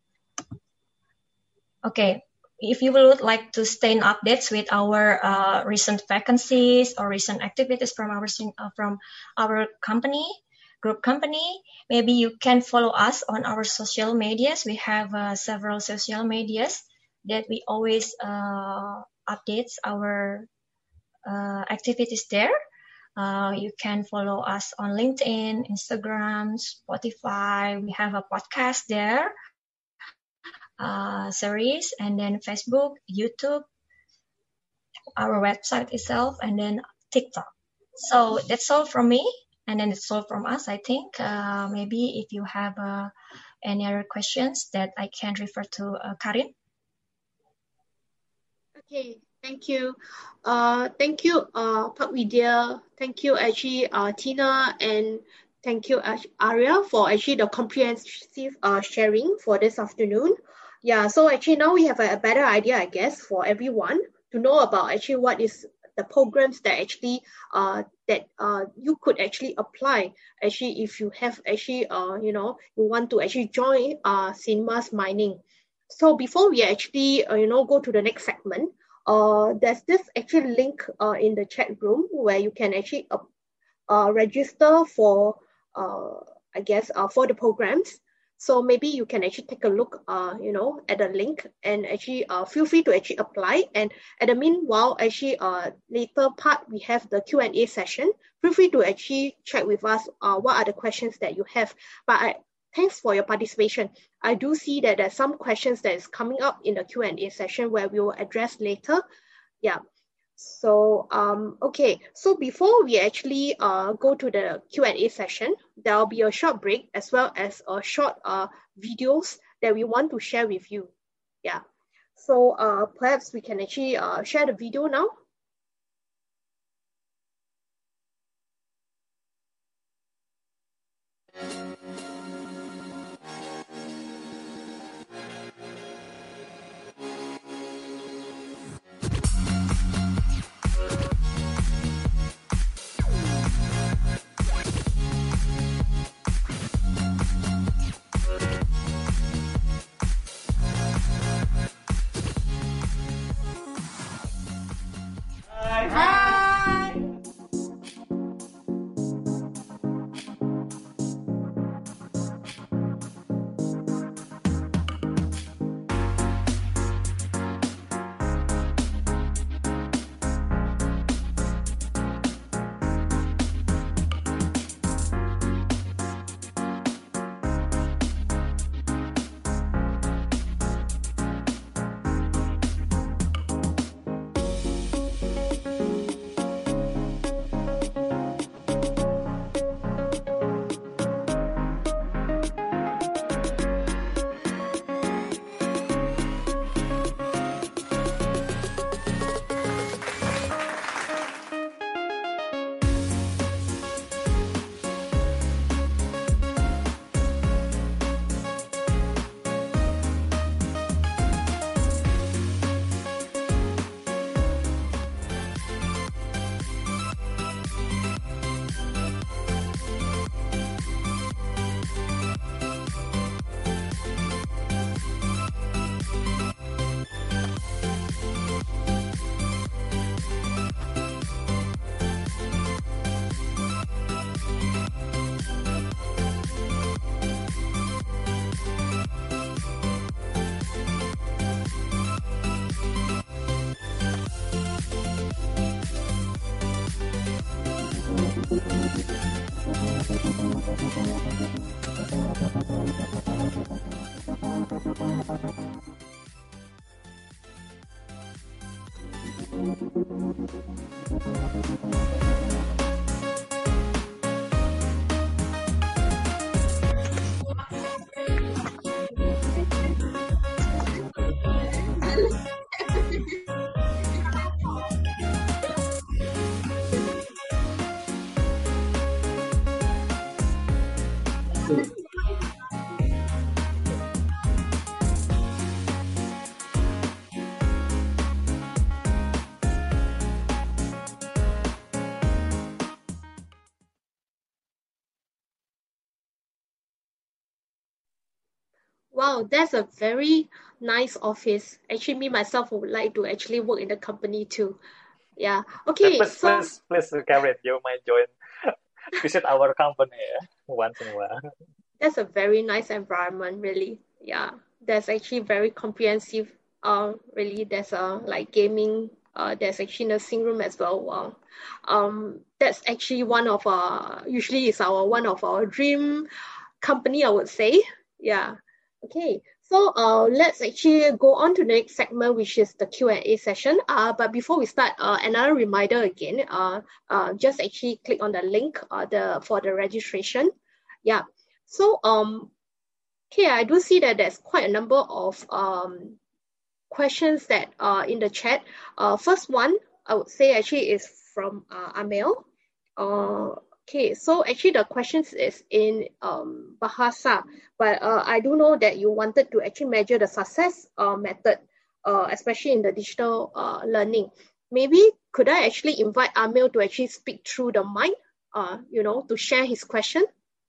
okay, if you would like to stay in updates with our uh, recent vacancies or recent activities from our, uh, from our company, group company, maybe you can follow us on our social medias. We have uh, several social medias that we always uh, updates our uh, activities there. Uh, you can follow us on LinkedIn, Instagram, Spotify. We have a podcast there, uh, series, and then Facebook, YouTube, our website itself, and then TikTok. So that's all from me. And then it's all from us, I think. Uh, maybe if you have uh, any other questions that I can refer to uh, Karin. Okay, thank you. Uh, thank you, uh, Pak Widya. Thank you, actually, uh, Tina, and thank you, Arya, for actually the comprehensive uh, sharing for this afternoon. Yeah, so actually now we have a, a better idea, I guess, for everyone to know about actually what is the programs that actually uh, that uh, you could actually apply actually if you have actually uh, you know you want to actually join uh, Sinarmas Mining. So before we actually uh, you know go to the next segment, uh, there's this actually link uh, in the chat room where you can actually uh, uh, register for uh, I guess uh, for the programs. So maybe you can actually take a look, uh, you know, at the link, and actually uh, feel free to actually apply. And at the meanwhile, actually, uh, later part we have the Q and A session. Feel free to actually check with us uh, what are the questions that you have. But I, thanks for your participation. I do see that there's some questions that is coming up in the Q and A session where we will address later. Yeah. So, um, okay, so before we actually uh, go to the Q and A session, there will be a short break as well as a short uh, videos that we want to share with you. Yeah, so uh, perhaps we can actually uh, share the video now. Wow, that's a very nice office. Actually, me myself would like to actually work in the company too. Yeah. Okay. Please, so please, please, Karen, you might join, visit our company eh, once in a while. That's a very nice environment, really. Yeah. There's actually very comprehensive. Uh, really, there's a like gaming. Uh, there's actually nursing room as well. Wow. Um, that's actually one of our. Usually, it's our one of our dream company, I would say. Yeah. Okay, so uh, let's actually go on to the next segment, which is the Q and A session. Uh, but before we start, uh, another reminder again, uh, uh, just actually click on the link uh, the for the registration. Yeah, so um, okay, I do see that there's quite a number of um, questions that are in the chat. Uh, first one, I would say actually is from uh, Amel. Uh, Okay, so actually the questions is in um, Bahasa, but uh, I do know that you wanted to actually measure the success uh, method, uh, especially in the digital uh, learning. Maybe could I actually invite Amil to actually speak through the mic, uh, you know, to share his question?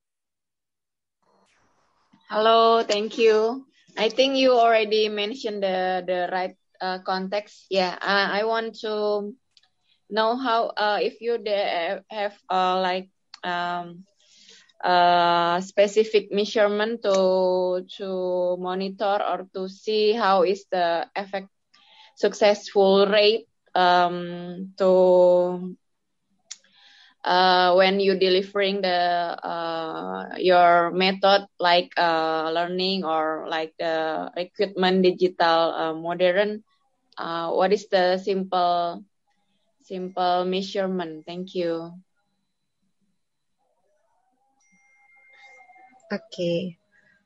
Hello, thank you. I think you already mentioned the, the right uh, context. Yeah, I, I want to know how uh, if you have uh, like um, uh, specific measurement to to monitor or to see how is the effect successful rate um, to uh, when you delivering the uh, your method like uh, learning or like the recruitment digital uh, modern. Uh, what is the simple simple measurement? Thank you. Okay.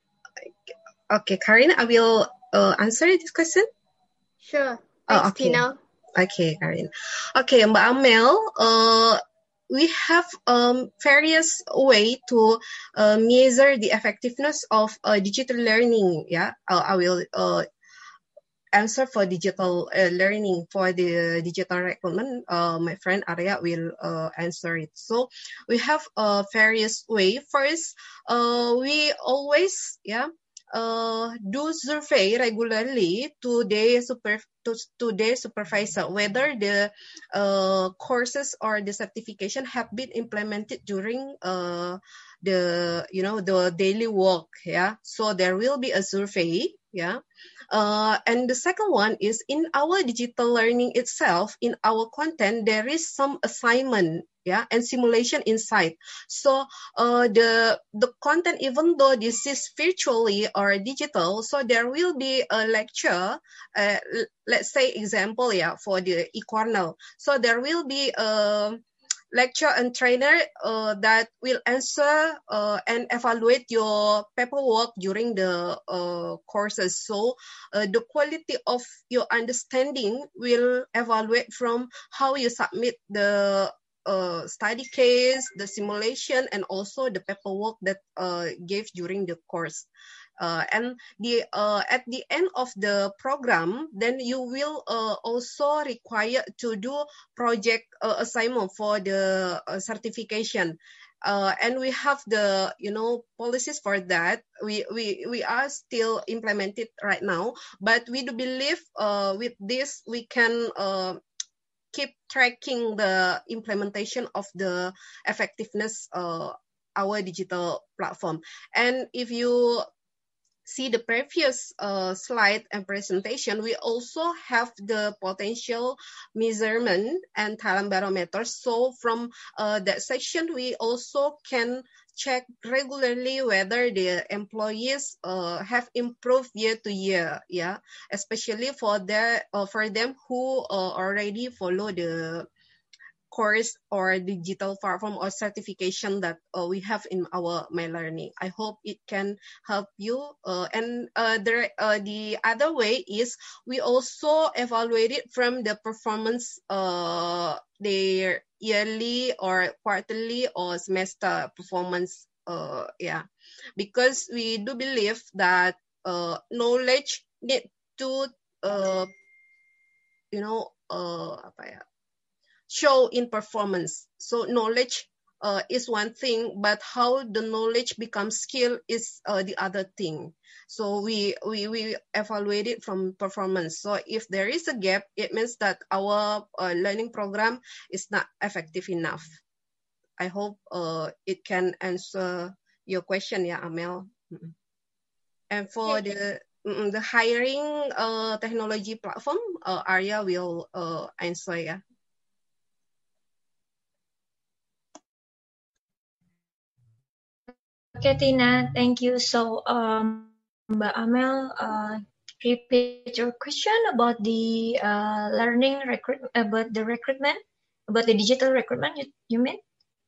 Okay, Karin, I will uh, answer this question. Sure. Thanks, oh, okay. Tina. Okay, Karin. Okay, Mbak Amel, uh, we have um, various way to uh, measure the effectiveness of uh, digital learning. Yeah, uh, I will uh, answer for digital uh, learning. For the digital recruitment, uh, my friend Arya will uh, answer it. So we have uh, various way. First, uh, we always yeah uh, do survey regularly to the super to, to their supervisor whether the uh, courses or the certification have been implemented during uh, the you know the daily work. Yeah, so there will be a survey. Yeah. Uh, and the second one is in our digital learning itself, in our content, there is some assignment, yeah, and simulation inside. So uh, the the content, even though this is virtually or digital, so there will be a lecture. Uh, let's say example, yeah, for the eCornell. So there will be a lecture and trainer uh, that will answer uh, and evaluate your paperwork during the uh, courses. So uh, the quality of your understanding will evaluate from how you submit the uh, study case, the simulation, and also the paperwork that uh, gave during the course. Uh, and the uh, at the end of the program, then you will uh, also require to do project uh, assignment for the uh, certification. Uh, and we have the you know policies for that. We we we are still implemented right now, but we do believe uh, with this we can uh, keep tracking the implementation of the effectiveness uh, our digital platform. And if you see the previous uh, slide and presentation, we also have the potential measurement and talent barometer. So from uh, that section, we also can check regularly whether the employees uh, have improved year to year, yeah, especially for their uh, for them who uh, already follow the course or digital platform or certification that uh, we have in our My Learning. I hope it can help you. Uh, and uh, the, uh, the other way is we also evaluate it from the performance, uh, their yearly or quarterly or semester performance. Uh, yeah, because we do believe that uh, knowledge need to, uh, you know, uh, apa ya? show in performance. So knowledge uh, is one thing, but how the knowledge becomes skill is uh, the other thing. So we, we, we evaluate it from performance. So if there is a gap, it means that our uh, learning program is not effective enough. I hope uh, it can answer your question, yeah, Amel. Mm-mm. And for the mm, the hiring uh, technology platform, uh, Arya will uh, answer, yeah. Okay, Tina, thank you. So, um, Mbak Amel, uh, repeat your question about the uh, learning recruit about the recruitment, about the digital recruitment. You, you mean?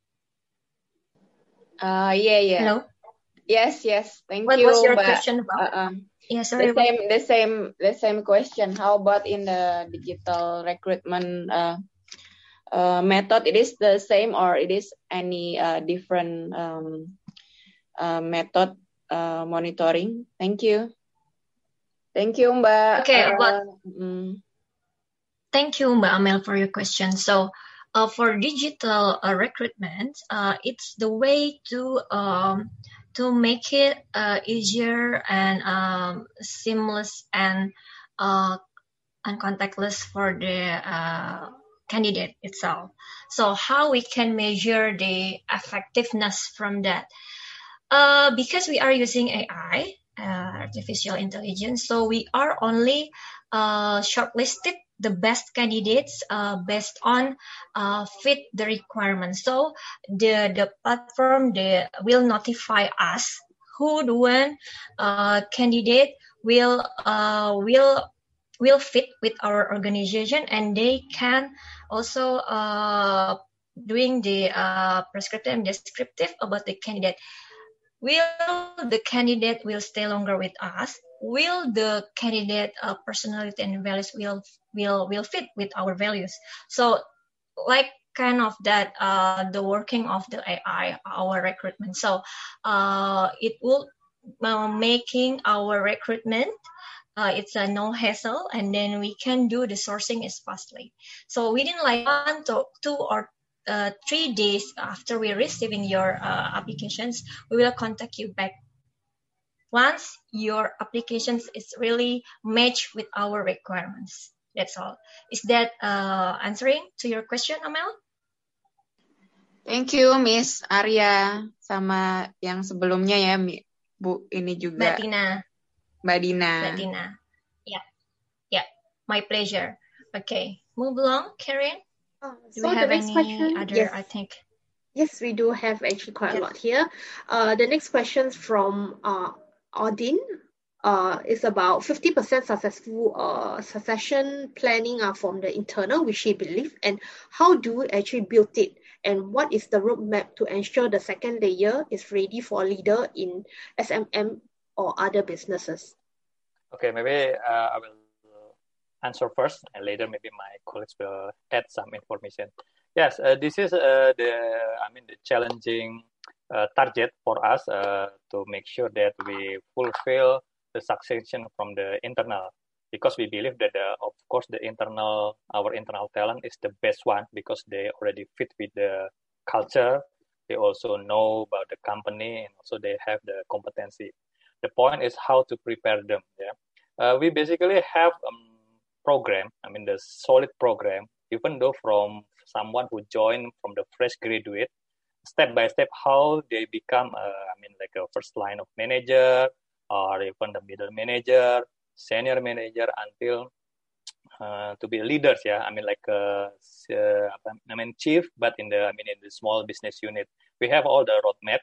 Uh, yeah, yeah. Hello. Yes, yes. Thank What you. was your Mbak. question about? Uh, uh, Yeah, sorry. the same, the same, the same question. How about in the digital recruitment uh, uh, method? It is the same, or it is any uh, different um, uh, method uh, monitoring? Thank you. Thank you, Mbak. Okay, Uh, but mm. thank you, Mbak Amel, for your question. So, uh, for digital uh, recruitment, uh, it's the way to um, to make it uh, easier and um, seamless and uh, and contactless for the uh, candidate itself. So, how we can measure the effectiveness from that? Uh, because we are using A I, uh, artificial intelligence, so we are only uh, shortlisted the best candidates uh, based on uh, fit the requirements. So the the platform they will notify us who the one uh, candidate will uh, will will fit with our organization, and they can also uh, doing the uh, prescriptive and descriptive about the candidate. Will the candidate will stay longer with us? Will the candidate uh, personality and values will will will fit with our values? So, like kind of that, uh, the working of the A I, our recruitment. So, uh, it will uh, making our recruitment. Uh, it's a no hassle, and then we can do the sourcing as fastly. So within like one to two or Uh, three days after we receiving your uh, applications, we will contact you back. Once your applications is really matched with our requirements. That's all. Is that uh, answering to your question, Amel? Thank you, Miss Arya. Sama yang sebelumnya ya, Bu. Ini juga. Mbak Tina. Mbak Dina. Mbak Tina. Yeah. Yeah. My pleasure. Okay. Move along, Karen. Uh, Do so we have the next any question, other, yes. I think? Yes, we do have actually quite Yes. a lot here. Uh, the next question from uh, Odin uh, is about fifty percent successful uh, succession planning uh, from the internal, which he believes, and how do we actually build it? And what is the roadmap to ensure the second layer is ready for leader in S M M or other businesses? Okay, maybe uh, I will answer first, and later maybe my colleagues will add some information. Yes, uh, this is uh, the I mean the challenging uh, target for us uh, to make sure that we fulfill the succession from the internal, because we believe that the, of course the internal our internal talent is the best one, because they already fit with the culture. They also know about the company, and also they have the competency. The point is how to prepare them. Yeah, uh, we basically have um, program, I mean the solid program, even though from someone who joined from the fresh graduate, step by step how they become, uh, I mean like a first line of manager, or even the middle manager, senior manager, until uh, to be leaders. Yeah, I mean like uh, uh, I mean chief, but in the I mean in the small business unit, we have all the roadmap.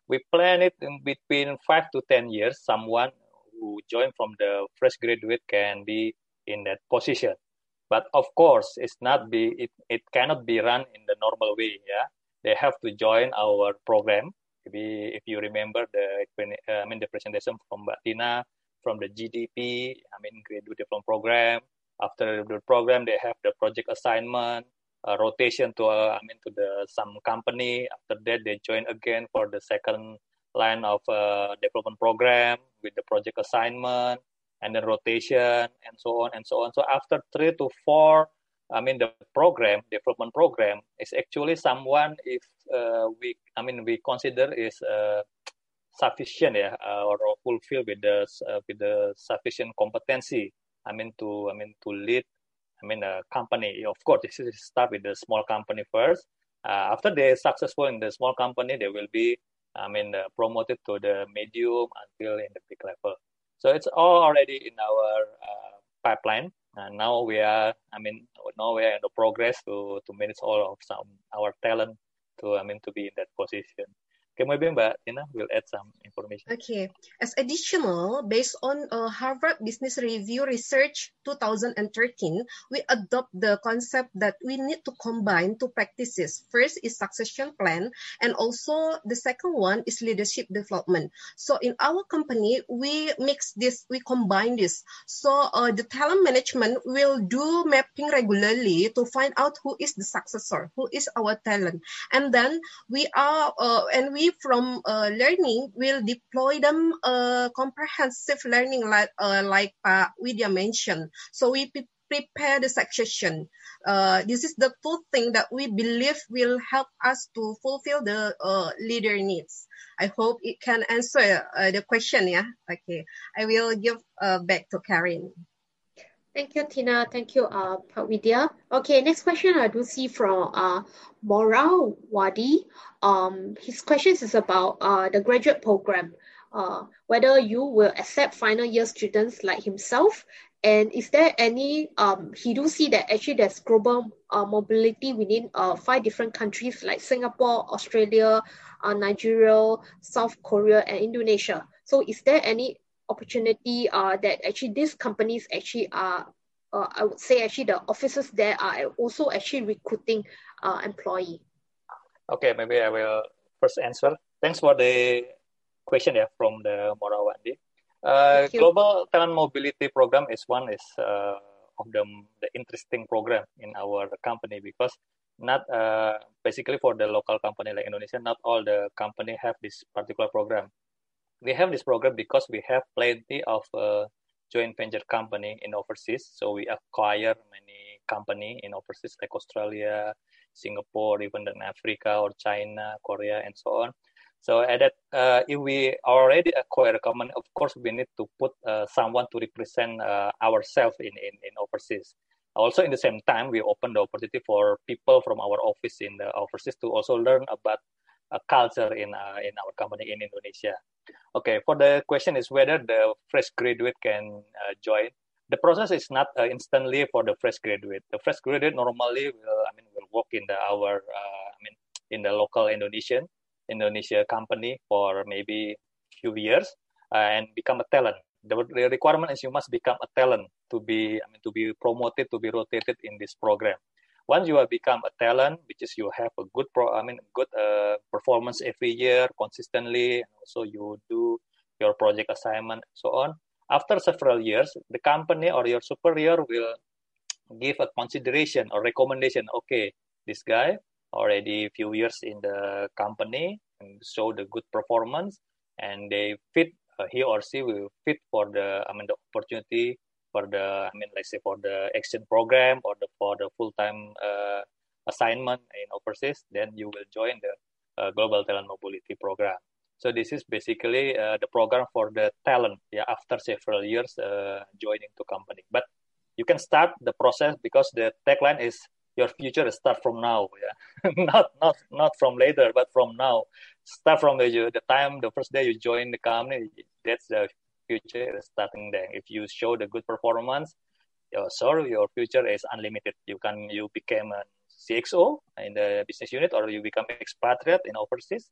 we plan it in between five to ten years. Someone who joined from the fresh graduate can be in that position. But of course, it's not be it, it cannot be run in the normal way. Yeah, they have to join our program. Maybe if you remember the uh, I mean the presentation from Mbak Tina from the G D P, I mean graduate development program. After the program, they have the project assignment, uh, rotation to uh, I mean to the some company. After that, they join again for the second line of uh, development program with the project assignment. And then rotation and so on and so on. So after three to four, I mean the program, development program is actually someone if uh, we, I mean we consider is uh, sufficient, yeah, uh, or fulfill with the uh, with the sufficient competency. I mean to, I mean to lead, I mean a company. Of course, this is start with the small company first. Uh, after they're successful in the small company, they will be, I mean, uh, promoted to the medium until in the big level. So it's all already in our uh, pipeline, and now we are, I mean, now we are in the progress to to manage all of some our talent to, I mean, to be in that position. Okay, maybe Mbak Tina will add some information. Okay, as additional, based on uh, Harvard Business Review Research twenty thirteen, we adopt the concept that we need to combine two practices. First is succession plan, and also the second one is leadership development. So in our company, we mix this, we combine this. So uh, the talent management will do mapping regularly to find out who is the successor, who is our talent, and then we are uh, and we from uh, learning will deploy them uh, comprehensive learning like uh, like Pak Widya mentioned. So we pre- prepare the succession. Uh, this is the two thing that we believe will help us to fulfill the uh, leader needs. I hope it can answer uh, the question. Yeah. Okay. I will give uh, back to Karen. Thank you, Tina. Thank you, uh, Pak Widya. Okay, next question I do see from uh, Moral Wadi. Um, his question is about uh, the graduate program. Uh, whether you will accept final year students like himself, and is there any, um, he do see that actually there's global uh, mobility within uh, five different countries like Singapore, Australia, uh, Nigeria, South Korea, and Indonesia. So is there any opportunity uh, that actually these companies actually are, uh, I would say actually the officers there are also actually recruiting uh, employee? Okay, maybe I will first answer. Thanks for the question yeah, from the Morawandi. Uh, Global Talent Mobility Program is one is uh, of the, the interesting program in our company because not uh, basically for the local company like Indonesia, not all the company have this particular program. We have this program because we have plenty of uh, joint venture company in overseas. So we acquire many company in overseas like Australia, Singapore, even in Africa or China, Korea, and so on. So at that, uh, if we already acquire a company, of course we need to put uh, someone to represent uh, ourselves in, in, in overseas. Also, in the same time, we open the opportunity for people from our office in the overseas to also learn about uh, culture in uh, in our company in Indonesia. Okay, for the question is whether the fresh graduate can uh, join. The process is not uh, instantly for the fresh graduate. The fresh graduate normally will, I mean, will work in the our, uh, I mean, in the local Indonesian Indonesia company for maybe few years uh, and become a talent. The, the requirement is you must become a talent to be, I mean, to be promoted, to be rotated in this program. Once you have become a talent, which is you have a good, pro, I mean, good uh, performance every year consistently, and also you do your project assignment, and so on. After several years, the company or your superior will give a consideration or recommendation. Okay, this guy already a few years in the company and show the good performance, and they fit. Uh, he or she will fit for the, I mean, the opportunity for the, I mean, let's say for the exchange program or the for the full-time uh, assignment in overseas. Then you will join the uh, Global Talent Mobility Program. So this is basically uh, the program for the talent. Yeah, after several years uh, joining the company, but you can start the process because the tagline is your future start from now. Yeah, not not not from later, but from now. Start from the the time the first day you join the company. That's the future starting there. If you show the good performance, your sorry, your future is unlimited. You can you become a C X O in the business unit, or you become expatriate in overseas.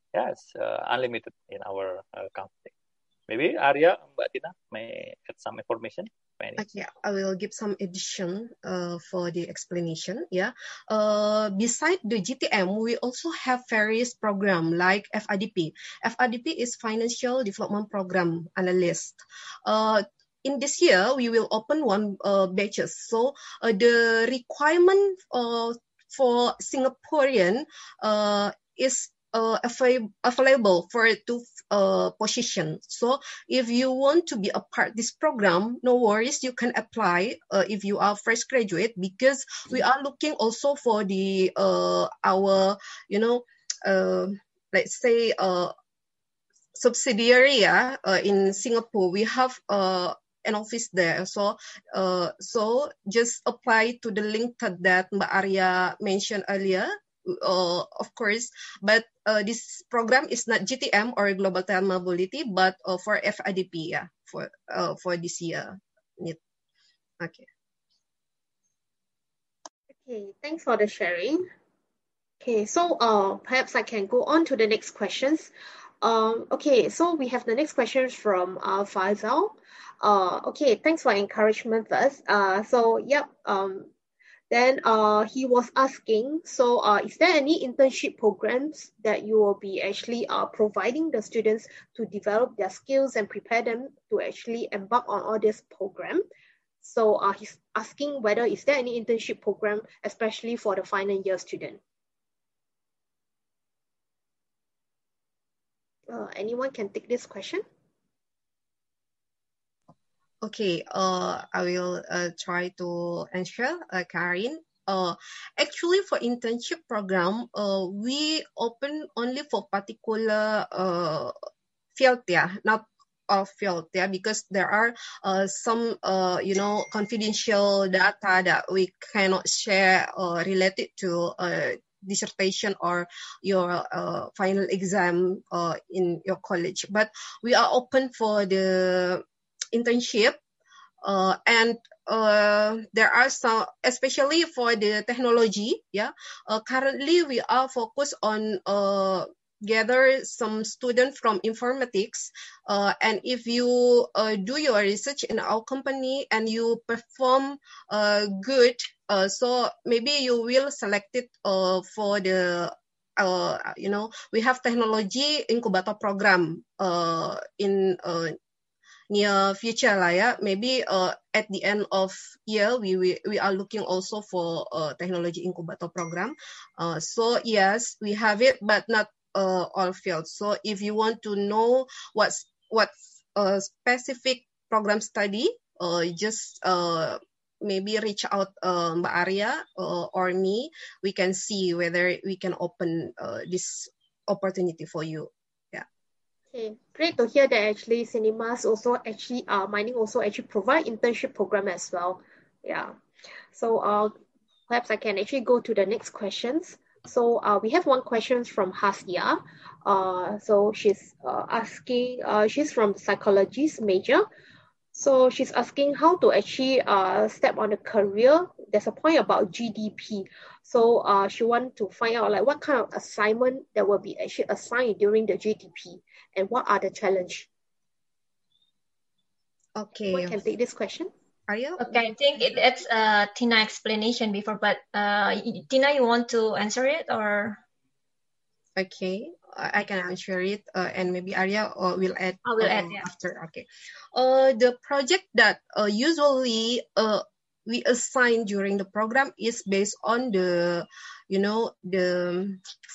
yes, uh, unlimited in our uh, company. Maybe Arya, Mbak Tina may add some information. Okay, I will give some addition uh, for the explanation. Yeah, uh, beside the G T M, we also have various program like F I D P. F I D P is Financial Development Program Analyst. Uh, in this year, we will open one uh, batches. So uh, the requirement uh, for Singaporean uh, is uh, avail- available for two uh, positions. So if you want to be a part this program, no worries, you can apply uh, if you are fresh graduate, because we are looking also for the uh, our you know uh, let's say uh, subsidiary yeah, uh, in Singapore. We have uh, an office there, so uh, so just apply to the link that Mbak Arya mentioned earlier. Uh, of course, but uh, this program is not G T M or Global Talent Mobility, but uh, for F I D P, yeah, for uh, for this year. Okay. Okay, thanks for the sharing. Okay, so uh, perhaps I can go on to the next questions. Um, okay, so we have the next question from uh, Faisal. Uh, okay, thanks for encouragement first. Uh, so, yep. Um, Then uh, he was asking, so uh, is there any internship programs that you will be actually uh, providing the students to develop their skills and prepare them to actually embark on all this program? So uh, he's asking whether is there any internship program, especially for the final year student? Uh, anyone can take this question? Okay, uh, I will uh, try to answer, uh, Karin. Uh, actually, for internship program, uh, we open only for particular uh, field, yeah, not all field, yeah, because there are uh, some, uh, you know, confidential data that we cannot share uh, related to uh, dissertation or your uh, final exam uh, in your college. But we are open for the internship, uh, and uh, there are some, especially for the technology. Yeah, uh, currently we are focused on uh, gather some students from informatics. Uh, and if you uh, do your research in our company and you perform uh, good, uh, so maybe you will select it uh, for the. Uh, you know, we have technology incubator program uh, in uh, near future lah, yeah. Maybe uh, at the end of year we we, we are looking also for a technology incubator program. Uh, so yes, we have it, but not uh, all fields. So if you want to know what's what uh, specific program study, uh, just uh, maybe reach out uh, Mbak Arya uh, or me. We can see whether we can open uh, this opportunity for you. Okay, great to hear that actually cinemas also actually uh mining also actually provide internship program as well. Yeah. So uh perhaps I can actually go to the next questions. So uh we have one question from Hasya. Uh so she's uh, asking uh she's from psychologist major. So she's asking how to actually uh step on a career. There's a point about G D P. So uh she want to find out like what kind of assignment that will be actually assigned during the G D P. And what are the challenge? Okay. Who can take this question? Are you? Okay, I think it, it's uh, Tina explanation before, but uh, Tina, you want to answer it or? Okay, I can answer it, uh, and maybe Arya uh, will add. I will uh, add, yeah. After. Okay. Uh, the project that uh, usually uh, we assign during the program is based on the, you know, the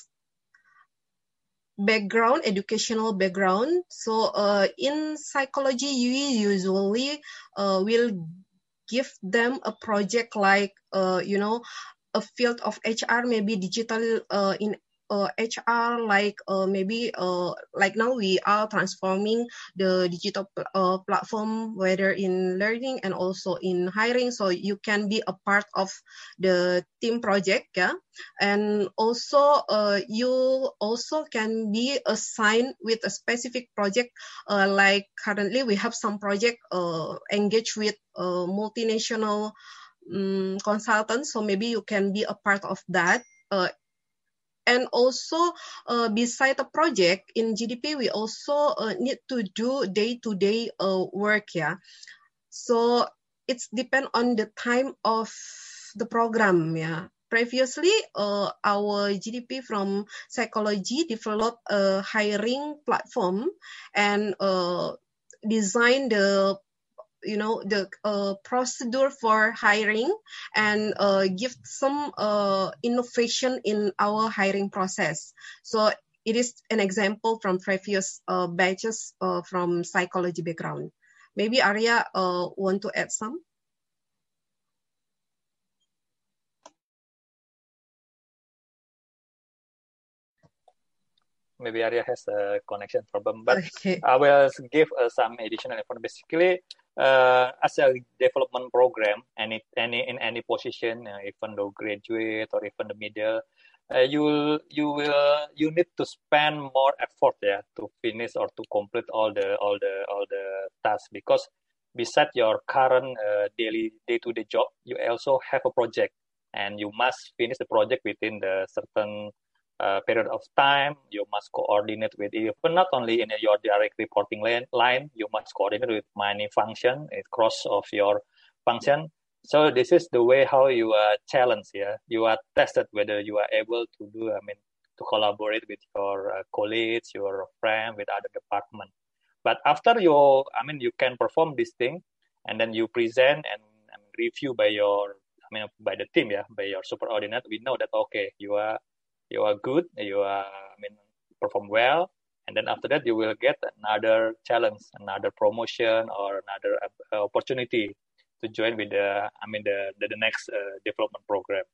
background, educational background. So uh, in psychology, we usually uh, will give them a project like, uh, you know, a field of H R, maybe digital uh, in uh, H R, like uh, maybe uh, like now we are transforming the digital pl- uh, platform, whether in learning and also in hiring. So you can be a part of the team project, yeah. And also uh, you also can be assigned with a specific project, uh, like currently we have some project uh, engaged with uh, multinational um, consultants. So maybe you can be a part of that. Uh, And also, uh, beside the project in G D P, we also uh, need to do day-to-day uh, work. Yeah, so it's depend on the time of the program. Yeah. Previously, uh, our G D P from psychology developed a hiring platform and uh, designed the you know the uh, procedure for hiring and uh, give some uh, innovation in our hiring process. So it is an example from previous uh, batches uh, from psychology background. Maybe Arya uh, want to add some? Maybe Arya has a connection problem, but okay. I will give uh, some additional information. Basically, uh, as a development program, any any in any position, uh, even though graduate or even the middle, uh, you will you will you need to spend more effort, yeah, to finish or to complete all the all the all the tasks, because besides your current uh, daily day-to-day job, you also have a project, and you must finish the project within the certain Uh, period of time. You must coordinate with even not only in your direct reporting line, line you must coordinate with many function across of your function. So this is the way how you are challenged. Yeah, you are tested whether you are able to do. I mean, to collaborate with your uh, colleagues, your friend, with other department. But after you, I mean, you can perform this thing, and then you present and, and review by your, I mean, by the team. Yeah, by your superordinate. We know that okay, you are. You are good, you are, I mean, perform well, and then after that you will get another challenge, another promotion, or another uh, opportunity to join with the, I mean, the the, the next uh, development program.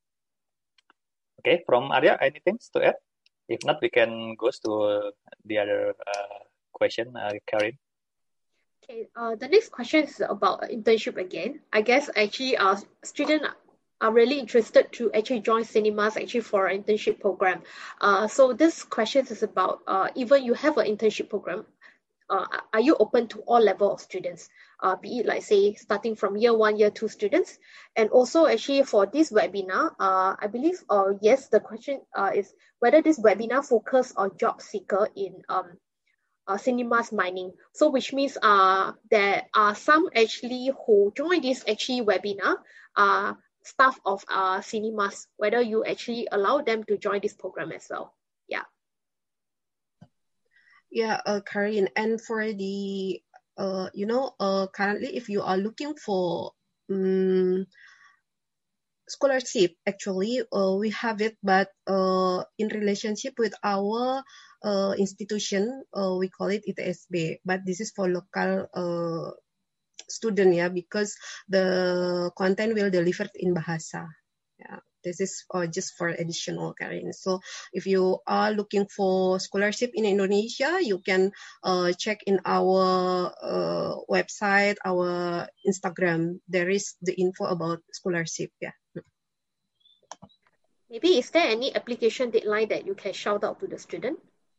Okay, from Arya, anything to add? If not, we can go to uh, the other uh, question, uh, Karin. Okay, uh, the next question is about internship again. I guess actually our student are really interested to actually join cinemas actually for an internship program. Uh, so this question is about uh, even you have an internship program, uh, are you open to all level of students? Uh, be it like say starting from year one, year two students, and also actually for this webinar, uh, I believe uh, yes, the question uh, is whether this webinar focus on job seeker in um, uh, cinemas mining. So which means uh, there are some actually who join this actually webinar uh, staff of uh, cinemas, whether you actually allow them to join this program as well. Yeah. Yeah, uh, Karin, and for the, uh, you know, uh, currently if you are looking for um, scholarship, actually, uh, we have it, but uh, in relationship with our uh, institution, uh, we call it I T S B, but this is for local uh, student, yeah, because the content will delivered in Bahasa. Yeah, this is uh, just for additional, Karin. So if you are looking for scholarship in Indonesia, you can uh, check in our uh, website, our Instagram. There is the info about scholarship. Yeah. Maybe is there any application deadline that you can shout out to the student?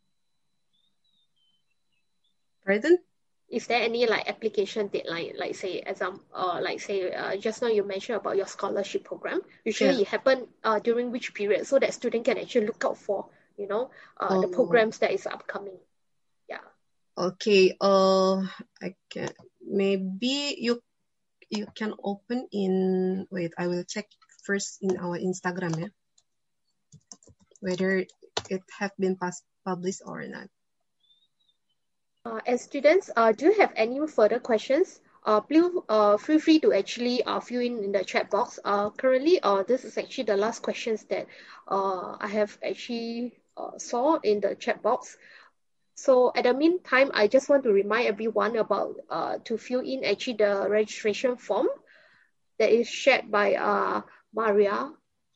Pardon? Is there any like application deadline, like say example, uh, like say uh, just now you mentioned about your scholarship program? Usually yeah. it happen uh, during which period, so that student can actually look out for, you know, uh, oh. the programs that is upcoming. Yeah. Okay. Uh, I can maybe you you can open in. Wait, I will check first in our Instagram, yeah, whether it have been past, published or not. Uh, and students, uh, do you have any further questions? Uh, please uh, feel free to actually uh, fill in in the chat box. Uh, currently, uh, this is actually the last questions that uh, I have actually uh, saw in the chat box. So at the meantime, I just want to remind everyone about uh, to fill in actually the registration form that is shared by uh, Maria.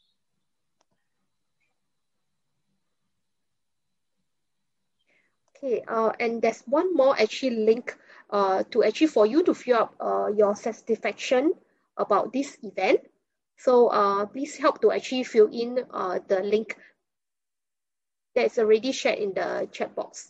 Okay, uh, and there's one more actually link uh, to actually for you to fill up uh, your satisfaction about this event. So uh, please help to actually fill in uh, the link that's already shared in the chat box.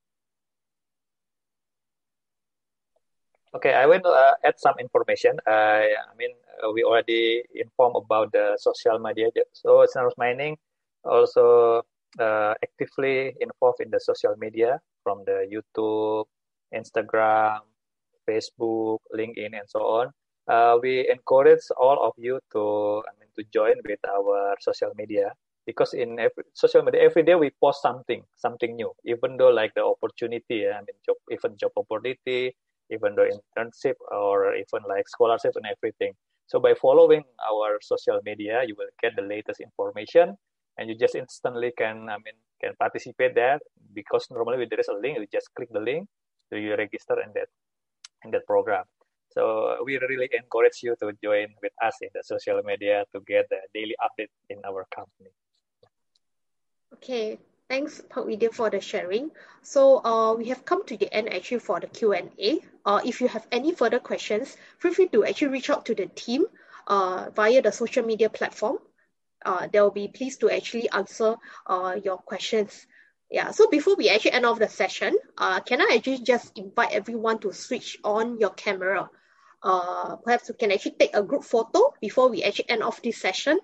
Okay, I will uh, add some information. Uh, I mean, uh, we already informed about the social media. So Cinemas Mining also uh, actively involved in the social media from the YouTube, Instagram, Facebook, LinkedIn, and so on. Uh, we encourage all of you to, I mean, to join with our social media, because in every social media every day we post something, something new. Even though like the opportunity, I mean, job, even job opportunity, even though internship or even like scholarship and everything. So by following our social media, you will get the latest information, and you just instantly can, I mean, can participate there, because normally there is a link. You just click the link, so you register in that in that program. So we really encourage you to join with us in the social media to get the daily update in our company. Okay. Thanks, Pak Widya, for the sharing. So uh, we have come to the end actually for the Q and A. Uh, if you have any further questions, feel free to actually reach out to the team uh, via the social media platform. Uh, they will be pleased to actually answer uh, your questions. Yeah. So before we actually end off the session, uh, can I actually just invite everyone to switch on your camera? Uh, perhaps we can actually take a group photo before we actually end off this session.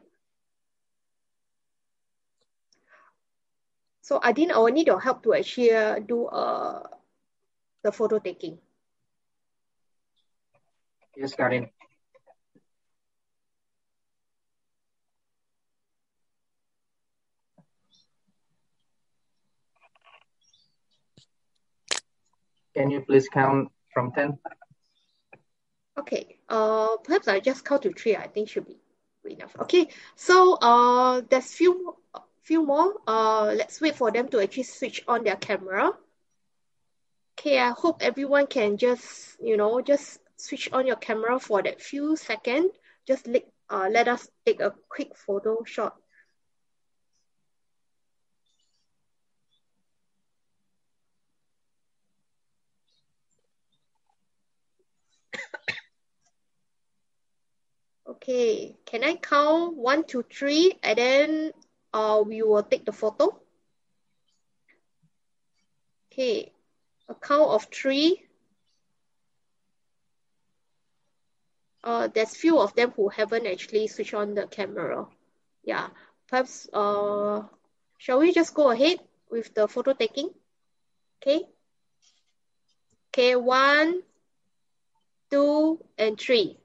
So Adin, I will need your help to actually uh, do uh, the photo taking. Yes, Karin. Can you please count from ten? Okay, uh, perhaps I'll just count to three. I think should be enough. Okay, so uh, there's few few more. Uh, let's wait for them to actually switch on their camera. Okay, I hope everyone can just, you know, just switch on your camera for that few seconds. Just let, uh, let us take a quick photo shot. Okay, can I count one, two, three, and then uh, we will take the photo? Okay, a count of three. Uh, there's few of them who haven't actually switched on the camera. Yeah, perhaps, uh, shall we just go ahead with the photo taking? Okay. Okay, one, two, and three.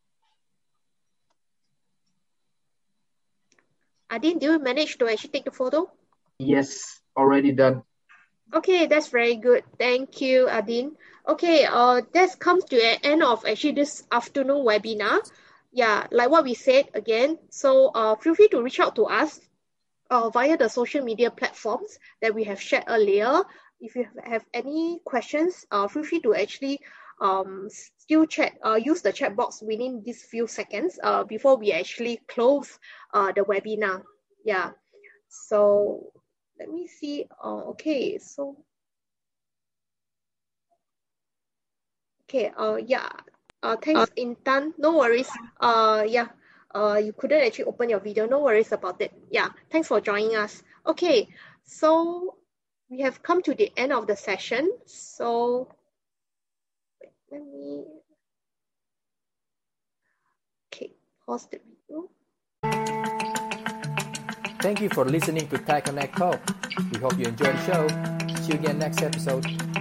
Adin, do you manage to actually take the photo? Yes, already done. Okay, that's very good. Thank you, Adin. Okay, uh, that comes to the end of actually this afternoon webinar. Yeah, like what we said again, so uh, feel free to reach out to us uh, via the social media platforms that we have shared earlier. If you have any questions, uh, feel free to actually um, still chat, uh, use the chat box within these few seconds uh, before we actually close uh, the webinar. Yeah, so let me see. Uh, okay, so okay. Uh, yeah. Uh, thanks, Intan. No worries. Uh, yeah. Uh, you couldn't actually open your video. No worries about it. Yeah. Thanks for joining us. Okay. So we have come to the end of the session. So wait, let me. Okay. Pause the video. Thank you for listening to Tech Connect Talk. We hope you enjoyed the show. See you again next episode.